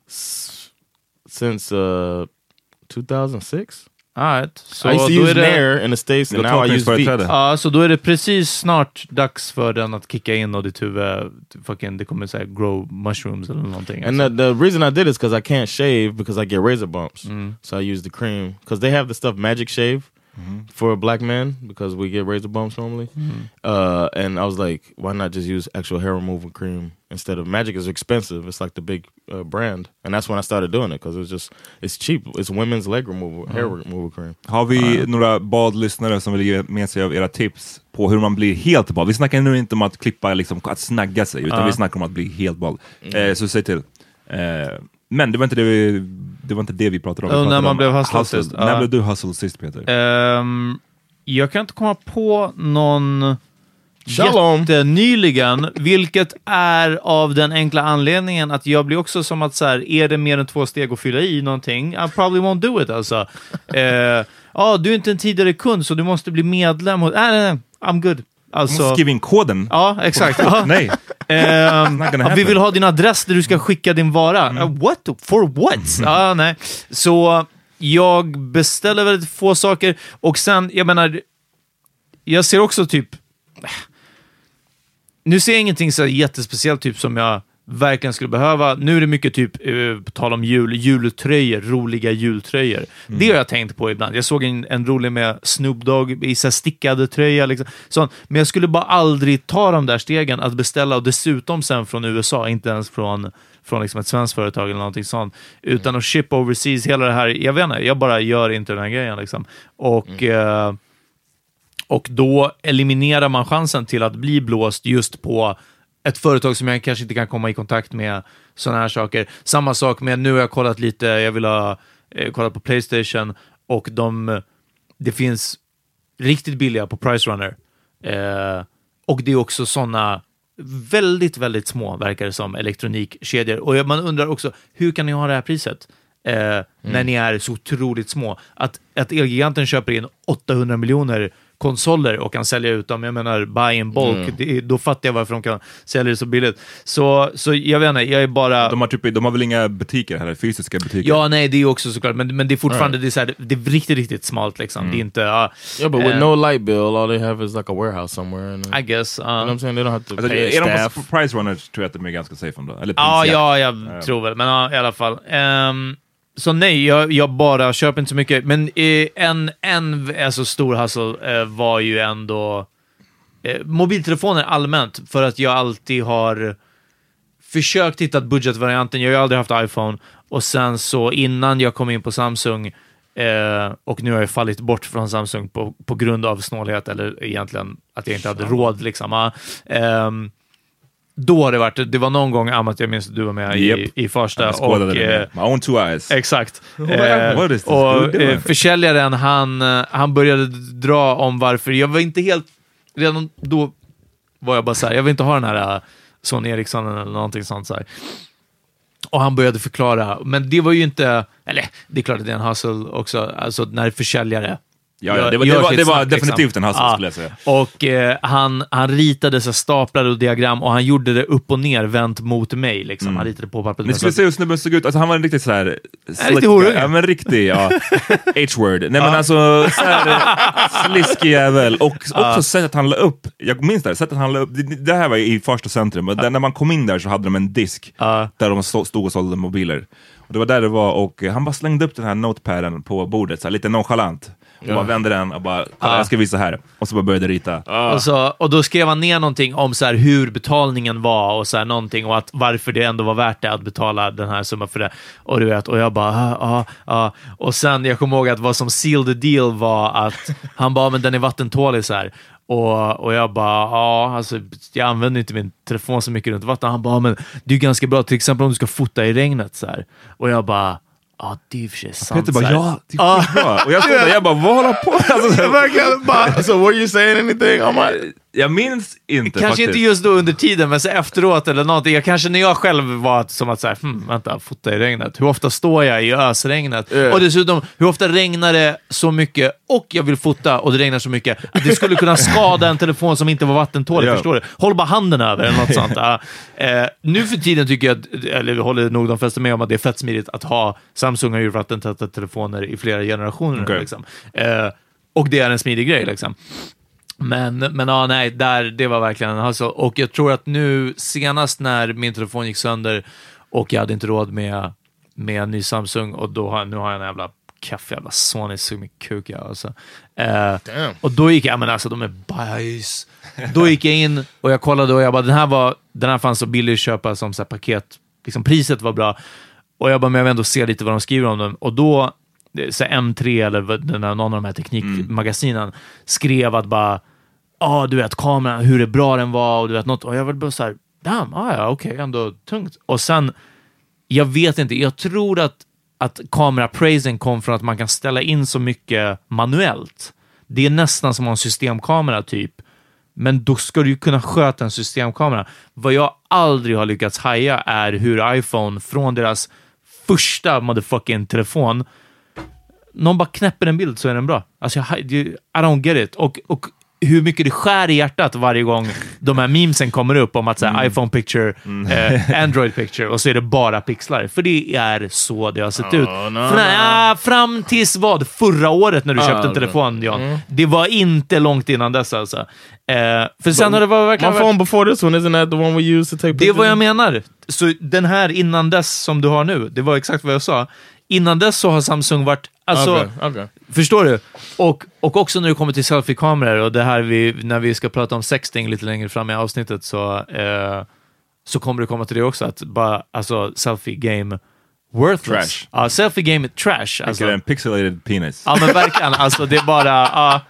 s- since uh, two thousand six. Right. Så I used to då use är det, Nair in the States, and now I use Veet. ja, så då är det precis snart dags för den att kicka in och ditt huvud, fucking, det kommer säga grow mushrooms eller någonting. And the, the reason I did is because I can't shave because I get razor bumps. Mm. So I use the cream. Because they have the stuff Magic Shave mm-hmm. for black men because we get razor bumps normally. Mm-hmm. Uh, and I was like, why not just use actual hair removal cream instead of Magic is expensive. It's like the big uh, brand. And that's when I started doing it because it was just, it's cheap. It's women's leg removal, mm. hair removal cream. Har vi uh, några badlyssnare som vill ge med sig av era tips på hur man blir helt bald? Vi snackar nu inte om att klippa, liksom, att snagga sig, utan uh. vi snackar om att bli helt bald. Mm. Eh, så säg till. Eh, men det var inte det vi, det var inte det vi pratade om. Vi oh, pratade när man om blev hustled sist. När uh. blev du hustled sist, Peter? Um, jag kan inte komma på någon Shalom. Jättenyligen, vilket är av den enkla anledningen att jag blir också som att så här, är det mer än två steg att fylla i någonting, I probably won't do it alltså. Ja, uh, ah, du är inte en tidigare kund så du måste bli medlem. Nej, nej, nej, I'm good. Alltså, du måste skriva in koden. Ja, exakt. Ja. Nej. Um, ja, vi vill ha din adress där du ska skicka din vara. Mm. Uh, what? For what? Mm. Ah, nej. Så jag beställer väldigt få saker och sen, jag menar, jag ser också typ nu ser jag ingenting så jättespeciellt typ som jag verkligen skulle behöva. Nu är det mycket typ, uh, på tal om jul, jultröjor, roliga jultröjor. Mm. Det har jag tänkt på ibland. Jag såg en, en rolig med Snoop Dogg i så här stickade tröja. Liksom. Sånt. Men jag skulle bara aldrig ta de där stegen att beställa och dessutom sen från U S A, inte ens från, från liksom ett svenskt företag eller någonting sånt. Utan att ship overseas, hela det här. Jag vet inte, jag bara gör inte den här grejen. Liksom. Och... Mm. Uh, Och då eliminerar man chansen till att bli blåst just på ett företag som jag kanske inte kan komma i kontakt med sådana här saker. Samma sak med, nu har jag kollat lite, jag vill ha eh, kollat på PlayStation och de, det finns riktigt billiga på Price Runner. Eh, och det är också sådana väldigt, väldigt små, verkar det som, elektronikkedjor. Och man undrar också, hur kan ni ha det här priset? Eh, mm. När ni är så otroligt små. Att, att Elgiganten köper in åttahundra miljoner konsoler och kan sälja ut dem, jag menar buy in bulk, mm. det, då fattar jag varför de kan sälja det så billigt. Så, så jag vet inte, jag är bara... De har, typ, de har väl inga butiker här, fysiska butiker? Ja, nej, det är också såklart, men, men det är fortfarande right. det, är så här, det är riktigt, riktigt smalt liksom. Mm. Det är inte... Uh, yeah, but with uh, no light bill, all they have is like a warehouse somewhere. And, I guess. Uh, you know what I'm saying? They don't have to alltså, pay är staff. De på Price Runners tror jag att de är ganska safe ändå. Eller ja, ja, jag uh, tror väl, men uh, i alla fall. Um, Så nej, jag, jag bara köper inte så mycket. Men eh, en, en alltså, stor hustle eh, var ju ändå eh, mobiltelefoner allmänt. För att jag alltid har försökt hitta budgetvarianten. Jag har ju aldrig haft iPhone. Och sen så innan jag kom in på Samsung eh, och nu har jag fallit bort från Samsung på, på grund av snålhet. Eller egentligen att jag inte hade råd liksom. Eh, Då har det varit, det var någon gång Amat, jag minns att du var med yep. i, i första och eh, my own two eyes. Exakt. eh, och eh, försäljaren han, han började dra om varför, jag var inte helt, redan då var jag bara så här, jag vill inte ha den här uh, Sony Ericsson eller någonting sånt så här. Och han började förklara, men det var ju inte, eller det är klart att det är en hustle också, alltså när försäljare Ja, ja, det var, det var, det var snack, definitivt liksom. En hustle ja. Skulle jag säga. Och eh, han, han ritade så staplar och diagram och han gjorde det upp och ner vänt mot mig liksom. Mm. Han ritade på pappret. Ni skulle se hur snubben såg ut. Alltså, han var en riktigt så här riktigt horung. Ja, men riktig, ja. H-word. Nej, men alltså så här sliskig jävel. Och också ja. Sättet han la upp. Jag minns det, sättet han la upp. Det, det här var i första centrum. Och där, när man kom in där så hade de en disk ja. Där de stod och sålde mobiler. Och det var där det var. Och han bara slängde upp den här notepaden på bordet. Så här, lite nonchalant. Och ja. Bara vände den och bara, ah. jag ska visa här. Och så bara började rita. Ah. Och, så, och då skrev han ner någonting om så här hur betalningen var och så här någonting och att varför det ändå var värt det att betala den här summan för det. Och du vet, och jag bara, ja, ah, ja. Ah. Och sen, jag kommer ihåg att vad som sealed the deal var att han bara, men den är vattentålig så här. Och, och jag bara, ja, alltså jag använder inte min telefon så mycket runt vatten. Han bara, men det är ganska bra, till exempel om du ska fota i regnet så här. Och jag bara, ja, ah, det är för sig sant. Peter bara, ja, det är ah. bra. Och jag stod där, jag bara, vad håller på? Alltså, verkligen bara, so were you saying anything? I'm like, Jag minns inte Kanske faktiskt. inte just då under tiden, men så efteråt eller någonting. Jag kanske när jag själv var som att säga, hm, vänta, fota i regnet. Hur ofta står jag i ösregnet? Yeah. Och dessutom, hur ofta regnar det så mycket och jag vill fota och det regnar så mycket att det skulle kunna skada en telefon som inte var vattentålig, Ja. förstår du? Håll bara handen över eller något sånt. Uh, eh, nu för tiden tycker jag, att, eller håller nog de flesta med om att det är fett smidigt att ha Samsung och vattentäta telefoner i flera generationer. Okay. Liksom. Uh, och det är en smidig grej liksom. Men, men ja, nej, där, det var verkligen alltså, och jag tror att nu senast när min telefon gick sönder och jag hade inte råd med, med en ny Samsung och då har, nu har jag en jävla kaffe, jävla Sony sug med kuk jag, alltså. eh, och då gick jag, men alltså de är bajs. Då gick jag in och jag kollade och jag bara, den här var, den här fanns så billig att köpa som så här paket, liksom priset var bra och jag bara, men jag vill ändå se lite vad de skriver om den och då så M tre eller den här, någon av de här teknikmagasinen mm. skrev att bara, ja ah, du vet kameran, hur bra den var och du vet något, och jag var bara så här, damn, ah, ja okej, okay, ändå tungt. Och sen, jag vet inte, jag tror att att kamerapraisen kom från att man kan ställa in så mycket manuellt. Det är nästan som en systemkamera typ, men då ska du ju kunna sköta en systemkamera. Vad jag aldrig har lyckats haja är hur iPhone från deras första motherfucking telefon, någon bara knäpper en bild så är den bra. Alltså, jag, I don't get it. Och, och hur mycket det skär i hjärtat varje gång de här memesen kommer upp om att säga mm. iPhone picture, mm. eh, Android picture, och så är det bara pixlar. För det är så det har sett oh, ut. No, no. Äh, fram tills vad? Förra året när du oh, köpte en telefon, John. Mm. Det var inte långt innan dess alltså. Eh, för sen har det var verkligen... My phone before this one, isn't that the one we use to take pictures? Det är vad jag menar. Så den här innan dess som du har nu, det var exakt vad jag sa. Innan dess så har Samsung varit... Alltså, okay, okay. Förstår du? Och, och också när det kommer till selfie-kameror och det här vi, när vi ska prata om sexting lite längre fram i avsnittet så, eh, så kommer det komma till det också att bara, alltså, selfie-game worthless. Trash. Ja, selfie-game är trash. Alltså. En pixelated penis. Ja, men verkligen. Alltså, det är bara... Uh,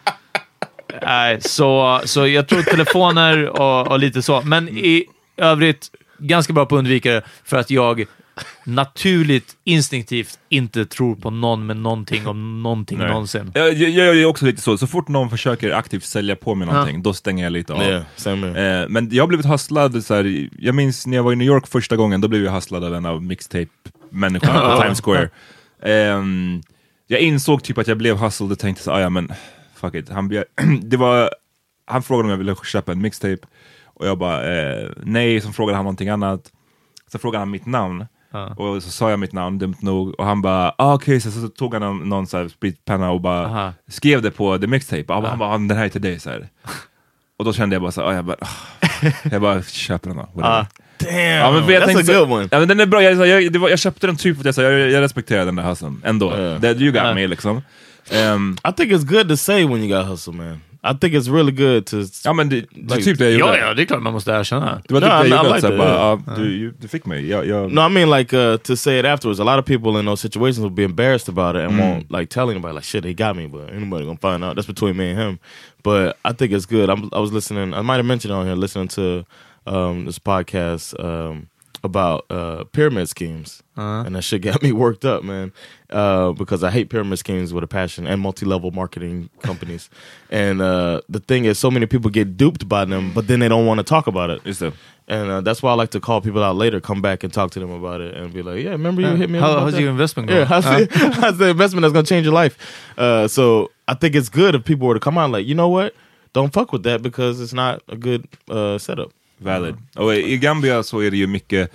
nej, så, så jag tror telefoner och, och lite så. Men i övrigt, ganska bra på att undvika det för att jag... naturligt, instinktivt inte tror på någon med någonting om någonting Nej. någonsin. Jag, jag, jag är också lite så. Så fort någon försöker aktivt sälja på mig någonting, ja. då stänger jag lite av. Yeah, eh, men jag har blivit hustlad så här, jag minns när jag var i New York första gången, då blev jag hustlad av en av mixtape-människorna på Times Square. Eh, jag insåg typ att jag blev hustled och tänkte så, ah, ja men fuck it. Han, det var, han frågade om jag ville köpa en mixtape och jag bara, eh, nej, så frågade han någonting annat. Så frågade han mitt namn. Uh. Och så sa jag mitt namn, dumt nog. Och han bara, ah, okej, okay. så, så tog han någon, någon så här spritpenna och bara uh-huh. skrev det på the mixtape. Uh. Han bara, den här är till dig så här. Och då kände jag bara så här, jag bara, oh. jag bara köper den då. Uh. Damn, ja, men jag that's tänkte, a good one. Ja, men den är bra, jag, jag, det var, jag köpte den typ för att jag, så, jag, jag respekterar den där hustlen ändå. Uh. That you got uh. me liksom. Um, I think it's good to say when you got hustle, man. I think it's really good to... Ja, men det, det like, typ det jag ja, gjorde. Ja, det är klart man måste erkänna. Det var typ no, det jag gjorde. like Så bara, uh, du, du fick mig. Jag, jag... No, I mean like uh, to say it afterwards. A lot of people in those situations will be embarrassed about it and mm. won't like telling about it, like, shit, he got me, but anybody gonna find out. That's between me and him. But I think it's good. I'm, I was listening, I might have mentioned on here, listening to um, this podcast um, about uh, pyramid schemes. Uh-huh. And that shit got me worked up, man. Uh, because I hate pyramid schemes with a passion and multi-level marketing companies. And uh, the thing is, so many people get duped by them, but then they don't want to talk about it. Just so. And uh, that's why I like to call people out later, come back and talk to them about it, and be like, yeah, remember you uh, hit me how, up about how's that? your investment going? Yeah, how's, uh. the, how's the investment that's going to change your life? Uh, so I think it's good if people were to come out like, you know what? Don't fuck with that because it's not a good uh, setup. Valid. Uh. Och i Gambia så är det ju mycket...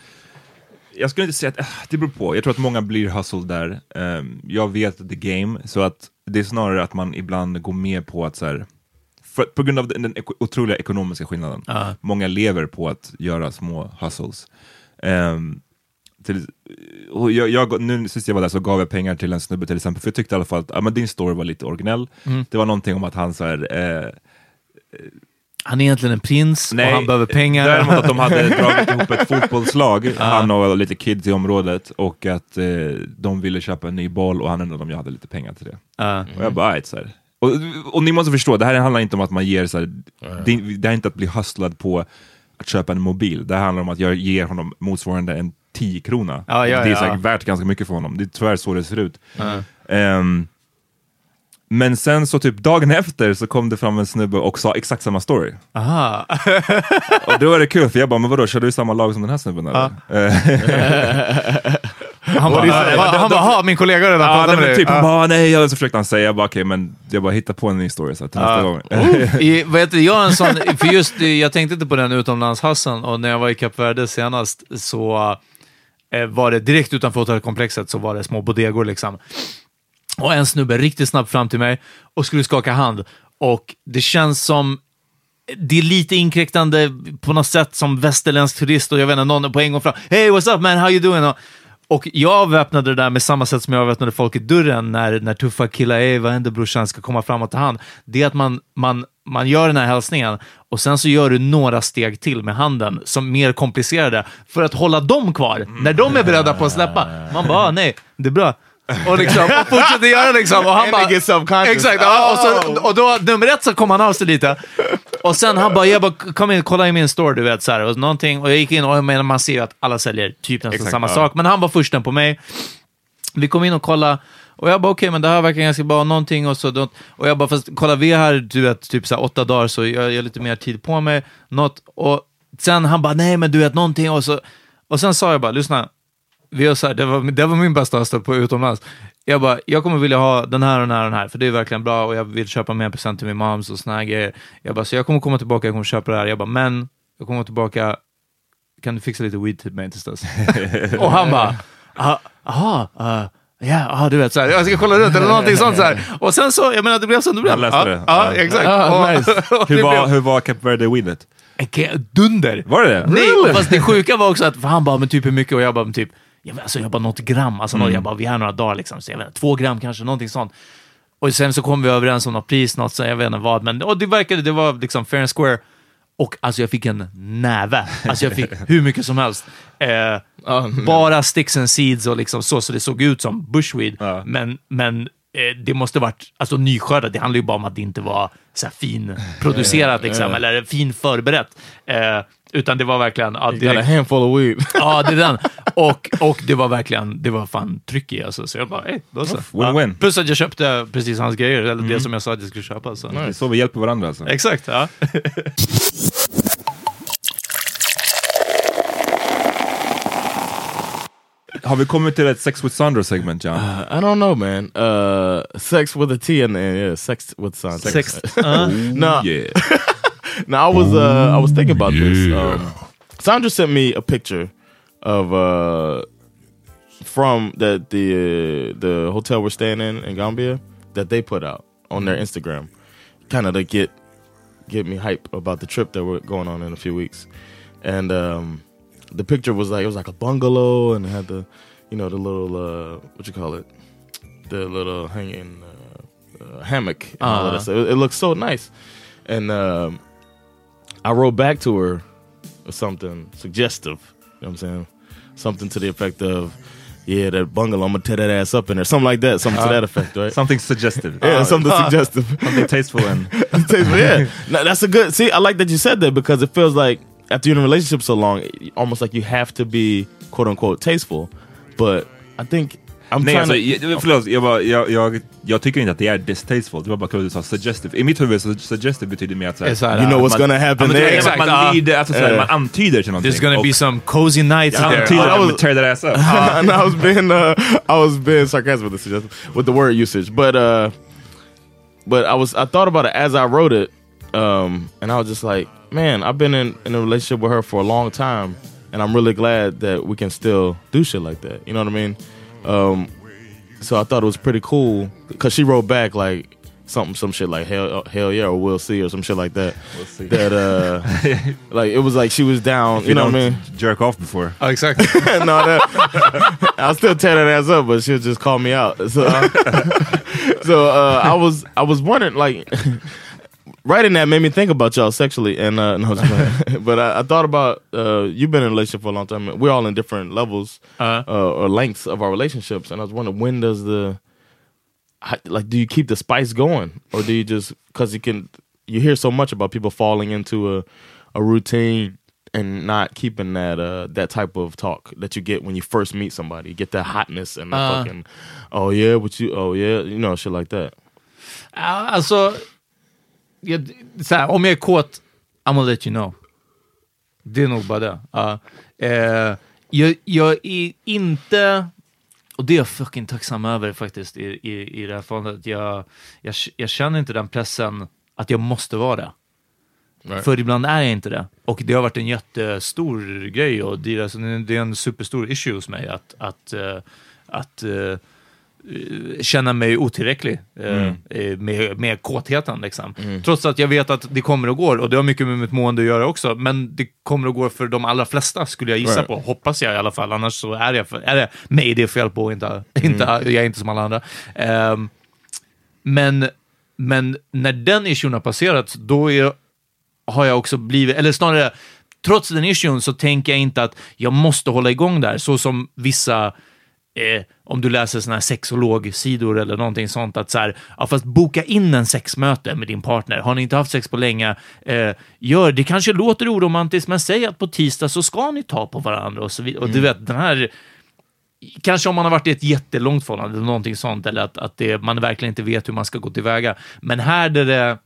Jag skulle inte säga att äh, det beror på. Jag tror att många blir hustled där. Um, jag vet the game. Så att det är snarare att man ibland går med på att så här, för, på grund av den, den ek- otroliga ekonomiska skillnaden. Uh. Många lever på att göra små hustles. Um, till, och jag, jag, nu sist jag var där så gav jag pengar till en snubbe till exempel. För jag tyckte i alla fall att ja, men din story var lite originell. Mm. Det var någonting om att han så här... Eh, han är egentligen en prins. Nej, och han behöver pengar. Däremot att de hade dragit ihop ett fotbollslag, uh. han och lite kids i området, och att eh, de ville köpa en ny boll och han undrade om jag hade lite pengar till det. Uh. Och jag bara, så här. Och, och ni måste förstå, det här handlar inte om att man ger så här, uh. det, det är inte att bli hustlad på att köpa en mobil. Det handlar om att jag ger honom motsvarande en tio krona. Uh, ja, det är så här, ja. värt ganska mycket för honom. Det är tyvärr så det ser ut. Uh. Um, Men sen så typ dagen efter så kom det fram en snubbe och sa exakt samma story. Aha. Och då var det kul, för jag bara, men vadå, kör du i samma lag som den här snubben eller? Ja. Han bara, han, han bara, ha, min kollega redan ja, pratade med dig. Typ, han bara, nej, och så försökte han säga, jag bara, okej, okay, men jag bara hittar på en ny story så till nästa gång. I, vet du, jag, en sån, för just, jag tänkte inte på den utomlands-Hassan, och när jag var i Kap Verde senast så eh, var det direkt utanför hotellkomplexet så var det små bodegor liksom. Och en snubbe riktigt snabbt fram till mig och skulle skaka hand. Och det känns som, det är lite inkräktande på något sätt som västerländsk turist, och jag vet inte, någon på en gång fram, hey, what's up man, how you doing? Och, och jag avväpnade det där med samma sätt som jag avväpnade folk i dörren när, när tuffa killar, hey, vad händer brorsan, ska komma fram och ta hand. Det är att man, man, man gör den här hälsningen och sen så gör du några steg till med handen som mer komplicerade för att hålla dem kvar när de är beredda på att släppa. Man bara, nej, det är bra. Och liksom, och fortsätter göra liksom, och han bara, exakt, ja, och, så, och då, nummer ett så kom han av sig lite, och sen han bara, jag bara, kom in, kolla i min store, du vet, så här, och någonting, och jag gick in, och jag menar, man ser ju att alla säljer typ nästan exakt, samma ja. sak, men han var försten på mig. Vi kom in och kolla, och jag bara, okej, okay, men det här verkar ganska bra, någonting, och så, och jag bara, fast kolla, vi är här, du vet, typ så här åtta dagar, så jag, jag har lite mer tid på mig, något, och sen han bara, nej, men du vet, någonting, och så, och sen sa jag bara, lyssna, vi har så här, det, var, det var min bästa stöd på utomlands. Jag bara, jag kommer vilja ha den här och den här och den här, för det är verkligen bra, och jag vill köpa mer present till min moms och såna här grejer. Jag bara, så jag kommer komma tillbaka, jag kommer köpa det här. Jag bara, men jag kommer tillbaka, kan du fixa lite weed till mig tills dess? Och han bara, aha, uh, ja, ah, du vet, så här, jag ska kolla runt eller någonting sånt så här. Och sen så, jag menar, det blev som det blev. Jag läste det. Ja, ja, exakt. Ah, nice. Hur var, hur var Kap Verde weedet? Dunder. Var det det? Nej, really? Fast det sjuka var också att för han bara, men typ hur mycket, och jag bara, men typ jag, alltså, jag bara något gram, alltså mm. jag bara, vi har några dagar liksom, så jag vet inte, två gram kanske, någonting sånt. Och sen så kom vi överens om något pris, något, så jag vet inte vad, men och det verkade, det var liksom fair and square. Och alltså jag fick en näve, alltså jag fick hur mycket som helst. Eh, oh, bara sticks and seeds och liksom så, så det såg ut som bushweed. Uh. Men, men eh, det måste varit, alltså nyskördat, det handlar ju bara om att det inte var så här fin producerat liksom, uh. eller fin förberett. Eh, utan det var verkligen, ja, det, a handful of weed. Ja, det är den. Och, och det var verkligen, det var fan tryck i, alltså. Så jag bara, hej, då så. Win-win. Ja. Plus att jag köpte precis hans grejer, eller mm. det som jag sa att jag skulle köpa. Så, nice. Så vi hjälper varandra alltså. Exakt, ja. Har vi kommit till ett Sex with Sandra segment, John? Uh, I don't know, man. Uh, sex with a T and yeah, sex with Sandra. Sex. Uh, no, yeah. no, I was uh, I was thinking about yeah. this. Um, Sandra sent me a picture of uh, from that the uh, the hotel we're staying in in Gambia that they put out on their Instagram, kind of to get get me hype about the trip that we're going on in a few weeks, and. Um, The picture was like, it was like a bungalow, and it had the, you know, the little, uh, what you call it? The little hanging uh, uh, hammock. And uh-huh. all of that. So it, it looked so nice. And um, I wrote back to her with something suggestive. You know what I'm saying? Something to the effect of, yeah, that bungalow, I'm going to tear that ass up in there. Something like that. Something uh, to that effect, right? Something suggestive. Yeah, uh, something uh, suggestive. Something tasteful. and tasteful, yeah. Now, that's a good, see, I like that you said that because it feels like, after you're in a relationship so long, almost like you have to be quote unquote tasteful. But I think I'm Nej, trying alltså, to... jag, förlåt, jag, bara, jag, jag, jag tycker inte att det är distasteful. Det var bara klart att du sa suggestive. I mitt huvud så suggestive betyder mer att såhär, såhär, you know what's man, gonna happen man, there. Exakt, man, man, lider, alltså, såhär, uh, man antyder till någonting. There's gonna och, be some cozy nights yeah, there. I antyder att man tear that ass up. uh, and I was being, uh, I was being sarcastic with the suggestive, with the word usage. But, uh, but I was, I thought about it as I wrote it, um, and I was just like, man, I've been in, in a relationship with her for a long time, and I'm really glad that we can still do shit like that. You know what I mean? Um, so I thought it was pretty cool because she wrote back like something, some shit like hell, hell yeah, or we'll see, or some shit like that. We'll see. That uh, like it was like she was down. If you, you know what I mean? Jerk off before. Oh, exactly. No, that, I'll still tear that ass up, but she'll just call me out. So, so uh, I was, I was wondering like. Writing that made me think about y'all sexually, and uh, no, but I, I thought about uh, you've been in a relationship for a long time. We're all in different levels uh-huh. uh, or lengths of our relationships, and I was wondering when does the like do you keep the spice going, or do you just because you can you hear so much about people falling into a a routine and not keeping that uh, that type of talk that you get when you first meet somebody, you get that hotness and the uh. fucking oh yeah, what you oh yeah, you know, shit like that. Alltså, jag, så här, om jag är kåt, I'm gonna let you know. Det är nog bara det. Uh, eh, jag, jag är inte... Och det är jag fucking tacksam över faktiskt i, i, i det här fallet. Jag, jag, jag känner inte den pressen att jag måste vara det. Right. För ibland är jag inte det. Och det har varit en jättestor grej. Och det är, alltså, det är en superstor issue hos mig att... att, uh, att uh, känna mig otillräcklig mm. eh, med, med kåtheten liksom. Mm. Trots att jag vet att det kommer att gå, och det har mycket med mitt mående att göra också, men det kommer att gå för de allra flesta skulle jag gissa right. på, hoppas jag i alla fall, annars så är det, är det mig det är fel på, inte, mm. inte, jag är inte som alla andra. Um, men, men när den issuen har passerat, då är, har jag också blivit, eller snarare trots den issuen så tänker jag inte att jag måste hålla igång där, så som vissa Eh, om du läser såna här sexologsidor eller någonting sånt, att så här, ja, fast boka in en sexmöte med din partner. Har ni inte haft sex på länge, eh, gör det. Kanske låter oromantiskt, men säg att på tisdag så ska ni ta på varandra och så vidare. Och du vet, den här, kanske om man har varit i ett jättelångt förhållande eller någonting sånt, eller att, att det, man verkligen inte vet hur man ska gå tillväga. Men här där det,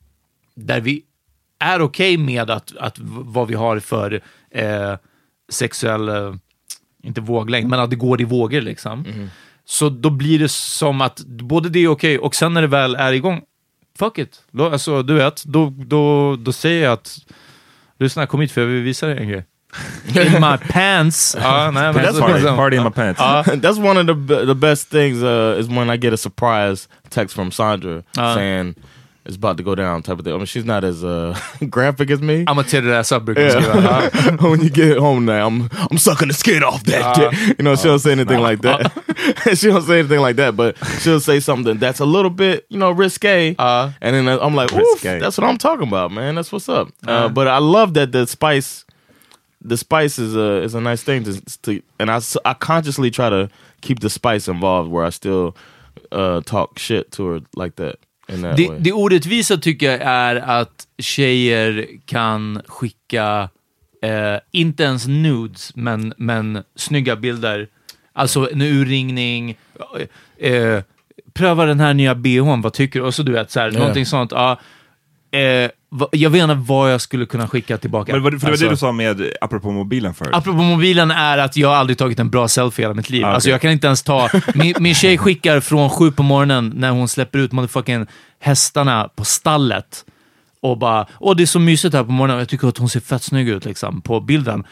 där vi är okej okay med att, att vad vi har för eh, sexuell eh, inte våglängd, men att det går i vågor liksom. Mm. Så då blir det som att både det är okej, och sen när det väl är igång, fuck it. Alltså, du vet, då, då, då säger jag att lyssna, kom hit för jag vill visa dig en grej. In my pants. Uh, nej, men that's party, party in my pants. Uh, that's one of the the best things uh, is when I get a surprise text from Sandra uh. saying it's about to go down type of thing. I mean, she's not as uh, graphic as me. I'm gonna tear that ass up. Yeah. When you get home now, I'm I'm sucking the skin off that. Uh, you know, she don't say anything uh, like that. Uh, she don't say anything like that, but she'll say something that's a little bit, you know, risque. Uh, and then I'm like, oof, that's what I'm talking about, man. That's what's up. Uh, uh, but I love that the spice, the spice is a is a nice thing to, to and I I consciously try to keep the spice involved, where I still uh, talk shit to her like that. Det, det orättvisa tycker jag är att tjejer kan skicka eh, inte ens nudes, men, men snygga bilder, alltså en urringning, eh, pröva den här nya B H:n, vad tycker du? Och så du vet, så här, yeah. någonting sånt, ja. Eh, jag vet inte vad jag skulle kunna skicka tillbaka. Men, för det var alltså, det du sa med apropå mobilen förut. Apropå mobilen är att jag aldrig tagit en bra selfie i hela mitt liv. Ah, okay. Alltså jag kan inte ens ta... Min, min tjej skickar från sju på morgonen när hon släpper ut motherfucking hästarna på stallet. Och bara, åh det är så mysigt här på morgonen. Jag tycker att hon ser fett snygg ut liksom, på bilden.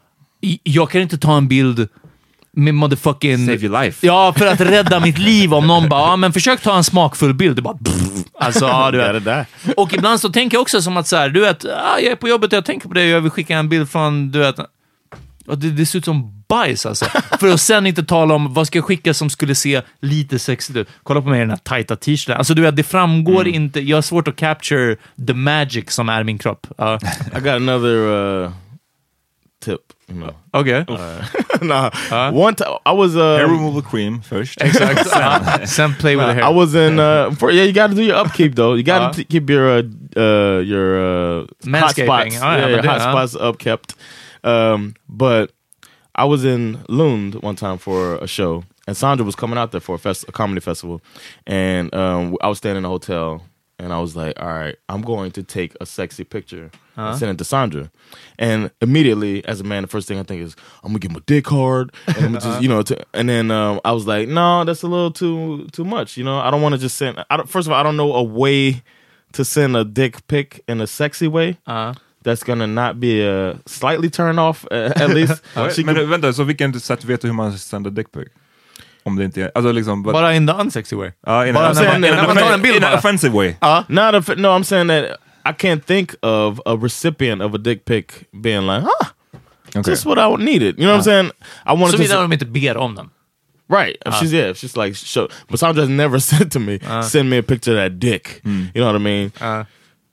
Jag kan inte ta en bild med motherfucking... Save your life. Ja, för att rädda mitt liv. Om någon bara, ja men försök ta en smakfull bild. Det bara... Alltså, ja, du vet. Det och ibland så tänker jag också som att så här, du vet, ah, jag är på jobbet och jag tänker på det, jag vill skicka en bild från, du vet, och det, det ser ut som bajs alltså. För att sen inte tala om vad ska jag skicka som skulle se lite sexigt ut. Kolla på mig i den här tajta t-shirten. Alltså du vet, det framgår mm. inte, jag har svårt att capture the magic som är min kropp. Uh. I got another uh, tip. No. Okay. Uh, nah. Uh, One time I was uh, hair removal cream first. Exactly. uh, Some play with the hair. I was in. Uh, for, yeah, you got to do your upkeep though. You got to uh, keep your uh, uh, your uh, hot spots. Oh, yeah, yeah, your hot uh. spots upkept. Um, but I was in Lund one time for a show, and Sandra was coming out there for a, fest- a comedy festival, and um, I was staying in a hotel. And I was like, all right, I'm going to take a sexy picture uh-huh. and send it to Sandra. And immediately, as a man, the first thing I think is, I'm going to get my dick hard. And, I'm just, you know, to, and then um, I was like, no, that's a little too too much. You know, I don't want to just send, I don't, first of all, I don't know a way to send a dick pic in a sexy way. Uh-huh. That's gonna not be a slightly turn off, uh, at least. Men could... vänta, så vilken sätt vet du hur man sänder dick pic? Om det inte är, alltså liksom, but, bara in the unsexy way. Ja, uh, in, a, saying, in, in, in, in, in an offensive way. Uh, not a, no, I'm saying that I can't think of a recipient of a dick pic being like, huh, okay. Just what I needed. You know uh, what I'm saying? I wanted to... Så de inte ber om dem. Right. If uh, she's, yeah, if she's like, show. But Sandra has never said to me, uh, send me a picture of that dick. Mm. You know what I mean? Uh,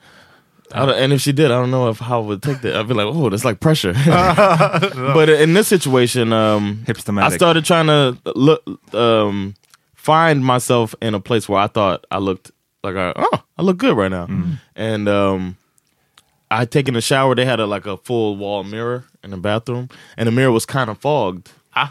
I don't, and if she did, I don't know if how I would take that. I'd be like, oh, that's like pressure. No. But in this situation, um, I started trying to look, um, find myself in a place where I thought I looked like, I, oh, I look good right now. Mm. And um, I had taken a shower. They had a, like a full wall mirror in the bathroom, and the mirror was kind of fogged. Ah.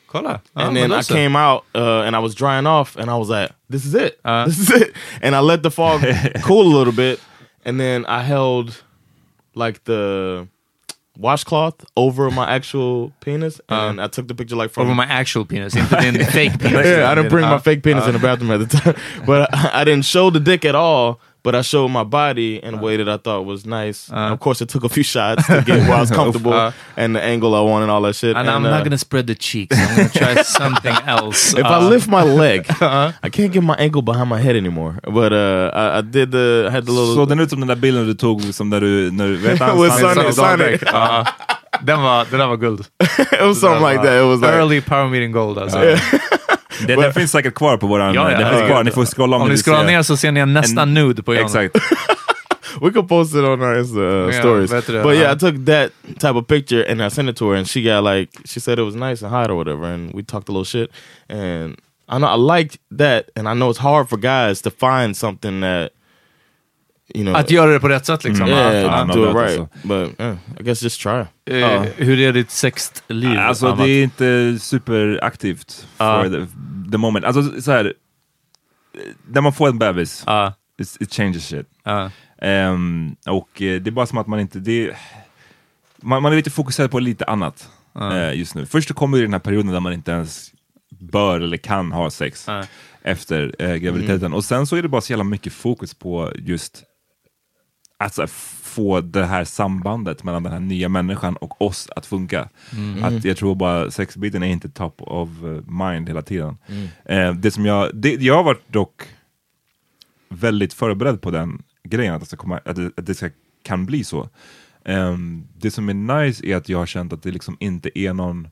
Kolla. And then I came out uh, and I was drying off and I was like, this is it. Uh. This is it. And I let the fog cool a little bit. And then I held like the washcloth over my actual penis. And uh. I took the picture like from... Over my actual penis, into the fake penis. Yeah, I didn't bring uh. my fake penis uh. in the bathroom at the time. But I, I didn't show the dick at all. But I showed my body in a way that I thought was nice. Uh. And of course, it took a few shots to get where I was comfortable uh. and the angle I wanted and all that shit. And, and I'm uh, not going to spread the cheeks. I'm going to try something else. If uh. I lift my leg, uh-huh. I can't get my ankle behind my head anymore. But uh, I, I did the, I had the little... Så den ut som den där bilden du tog som där du... När, vet han, With Sonic. Sonic. uh. Den var, den där var guld. It was something like that. It was like... Early Power Meeting Gold alltså. Yeah. Det, den finns säkert kvar på våran... Ja, ja, den finns ja, kvar. ja. Ni får scrolla om, om ni scrollar ner så ser ni en nästan en, nude på Jan. Exakt. We could post it on our Insta uh, yeah, stories. Better, but yeah, uh, I took that type of picture and I sent it to her, and she got like, she said it was nice and hot or whatever, and we talked a little shit. And I know I liked that, and I know it's hard for guys to find something that, you know, att göra det på rätt sätt liksom. Mm. Yeah, uh, uh, do it right. So. But uh, I guess just try. Uh, uh. Hur är ditt sexliv? Alltså det är inte superaktivt uh. for the, the moment. Alltså så här, när man får en bebis, uh. it, it changes shit. Uh. Um, och det är bara som att man inte det, man, man är lite fokuserad på lite annat uh. uh, just nu. Först så kommer ju den här perioden där man inte ens bör eller kan ha sex uh. efter uh, graviditeten. Mm. Och sen så är det bara så jävla mycket fokus på just att alltså, få det här sambandet mellan den här nya människan och oss att funka. Mm. Att jag tror bara sexbiten är inte top of mind hela tiden. Mm. Uh, det som jag det, jag har varit dock väldigt förberedd på den grejen, att det, ska komma, att det, att det ska, kan bli så. Um, det som är nice är att jag har känt att det liksom inte är någon...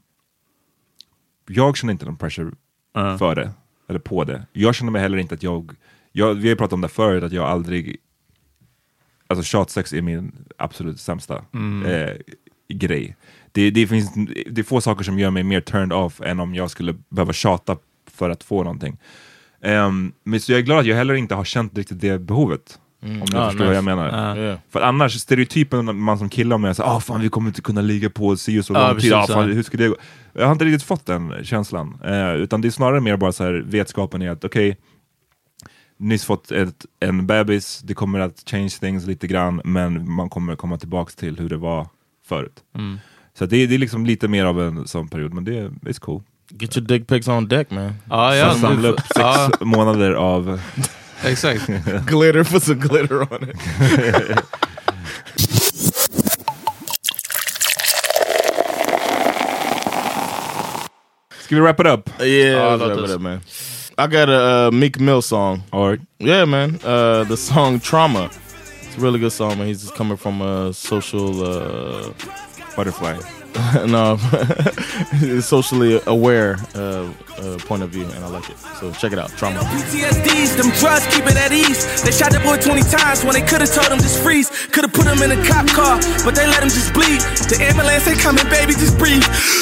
Jag känner inte någon pressure uh. för det, eller på det. Jag känner mig heller inte att jag... jag vi har pratat om det förut, att jag aldrig... Alltså tjatsex är min absolut sämsta mm. eh, grej. Det, det finns det är få saker som gör mig mer turned off än om jag skulle behöva tjata för att få någonting. Um, men så jag är glad att jag heller inte har känt riktigt det behovet. Mm. Om du ah, förstår nice. Vad jag menar. Uh. Yeah. För annars, stereotypen man som killar med säger, ah fan vi kommer inte kunna ligga på och se så lång uh, tid. Ah, fan, hur ska det gå? Jag har inte riktigt fått den känslan. Uh, utan det är snarare mer bara så här vetskapen i att okej, okay, nyss fått ett, en bebis, det kommer att change things lite grann, men man kommer komma tillbaks till hur det var förut. Mm. Så det, det är liksom lite mer av en sån period, men det är it's cool. Get your dick pics on deck, man. Ah, ja, så samla upp sex ah. månader av... Exakt. Glitter, put some glitter on it. Ska vi wrap it up? Yeah, oh, let's wrap it up, man. I got a uh, Meek Mill song. All right. Yeah, man. Uh, the song Trauma. It's a really good song, man. He's just coming from a social... Uh, Butterfly. No, socially aware uh, uh, point of view, and I like it. So check it out, Trauma. P T S Ds, them drugs keep it at ease. They shot that boy twenty times when they could have told him just freeze. Could have put him in a cop car, but they let him just bleed. The ambulance ain't coming, baby, just breathe.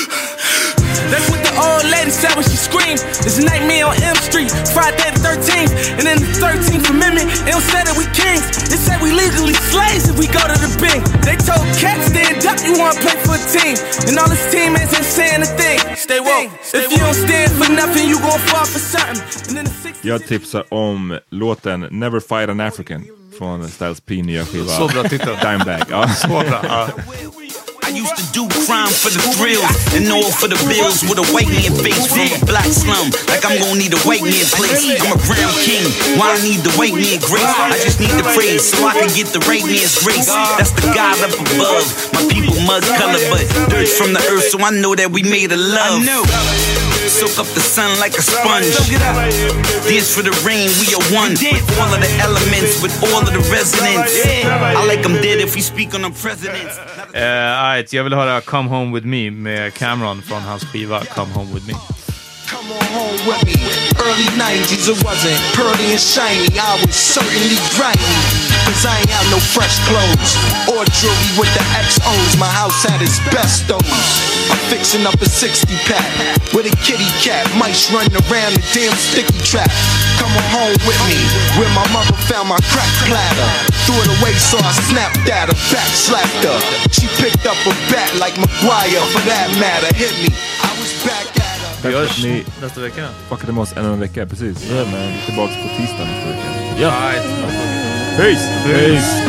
That's what the old lady said when she screamed. It's a nightmare on M Street, Friday the thirteenth. And in the thirteenth Amendment, it don't say that we kings. It said we legally slaves if we go to the bank. They told cats stand up, you wanna play for a team. And all his teammates ain't saying a thing. Stay woke. If you don't stand for nothing, you gon' fall for something. And then the Jag tipsar om låten Never Fight an African från Styles P nya skiva. Så bra titel. Dimebag. Ja. Så bra. Ja. I used to do crime for the thrills and all for the bills with a white man face from a black slum. Like I'm gonna need a white man place. I'm a crown king. Why I need the white man grace? I just need the praise so I can get the right man's grace. That's the God up above. My people mud color, but dirt from the earth, so I know that we made a love. Soak up the sun like a sponge. Dance for the rain, we are one. With all of the elements, with all of the residents. I like them dead if we speak on the presidents. Uh, right, jag vill höra Come Home With Me med Cameron från hans skiva Come Home With Me. Come on home with me. Early nineties, it wasn't pearly and shiny. I was certainly grimy, cause I ain't have no fresh clothes or jewelry with the X O's. My house had its best those. I'm fixing up a sixty pack with a kitty cat. Mice running around the damn sticky trap. Come on home with me, where my mother found my crack platter. Threw it away so I snapped at her, back slapped her. She picked up a bat like McGuire, for that matter, hit me. I was back at her. Vi Tack för hörs att ni nästa vecka. fuckade med oss ännu en vecka, precis. Yeah, man. Vi är tillbaka på tisdag nästa vecka. Yeah. Peace! Peace.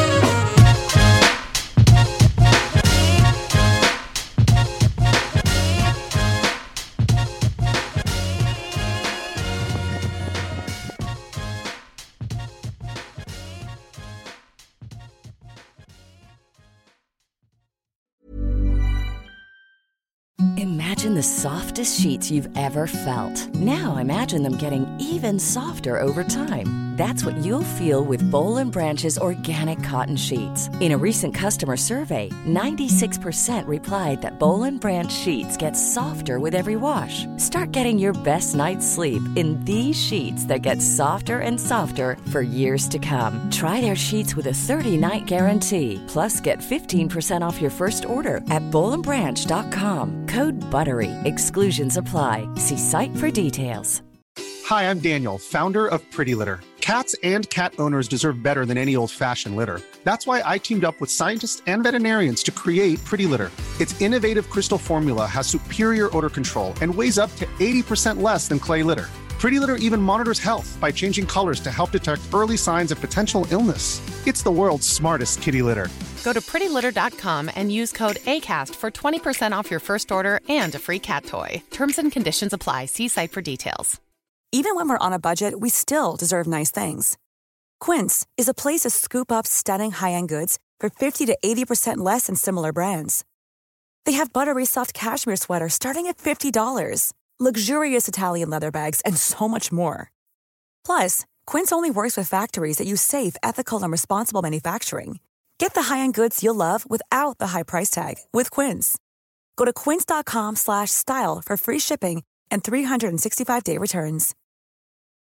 Imagine the softest sheets you've ever felt. Now imagine them getting even softer over time. That's what you'll feel with Boll and Branch's organic cotton sheets. In a recent customer survey, ninety-six percent replied that Boll and Branch sheets get softer with every wash. Start getting your best night's sleep in these sheets that get softer and softer for years to come. Try their sheets with a thirty-night guarantee. Plus, get fifteen percent off your first order at boll and branch dot com. Code BUTTERY. Exclusions apply. See site for details. Hi, I'm Daniel, founder of Pretty Litter. Cats and cat owners deserve better than any old-fashioned litter. That's why I teamed up with scientists and veterinarians to create Pretty Litter. Its innovative crystal formula has superior odor control and weighs up to eighty percent less than clay litter. Pretty Litter even monitors health by changing colors to help detect early signs of potential illness. It's the world's smartest kitty litter. Go to pretty litter dot com and use code ACAST for twenty percent off your first order and a free cat toy. Terms and conditions apply. See site for details. Even when we're on a budget, we still deserve nice things. Quince is a place to scoop up stunning high-end goods for fifty to eighty percent less than similar brands. They have buttery soft cashmere sweaters starting at fifty dollars, luxurious Italian leather bags, and so much more. Plus, Quince only works with factories that use safe, ethical, and responsible manufacturing. Get the high-end goods you'll love without the high price tag with Quince. Go to quince dot com slash style for free shipping and three sixty-five day returns.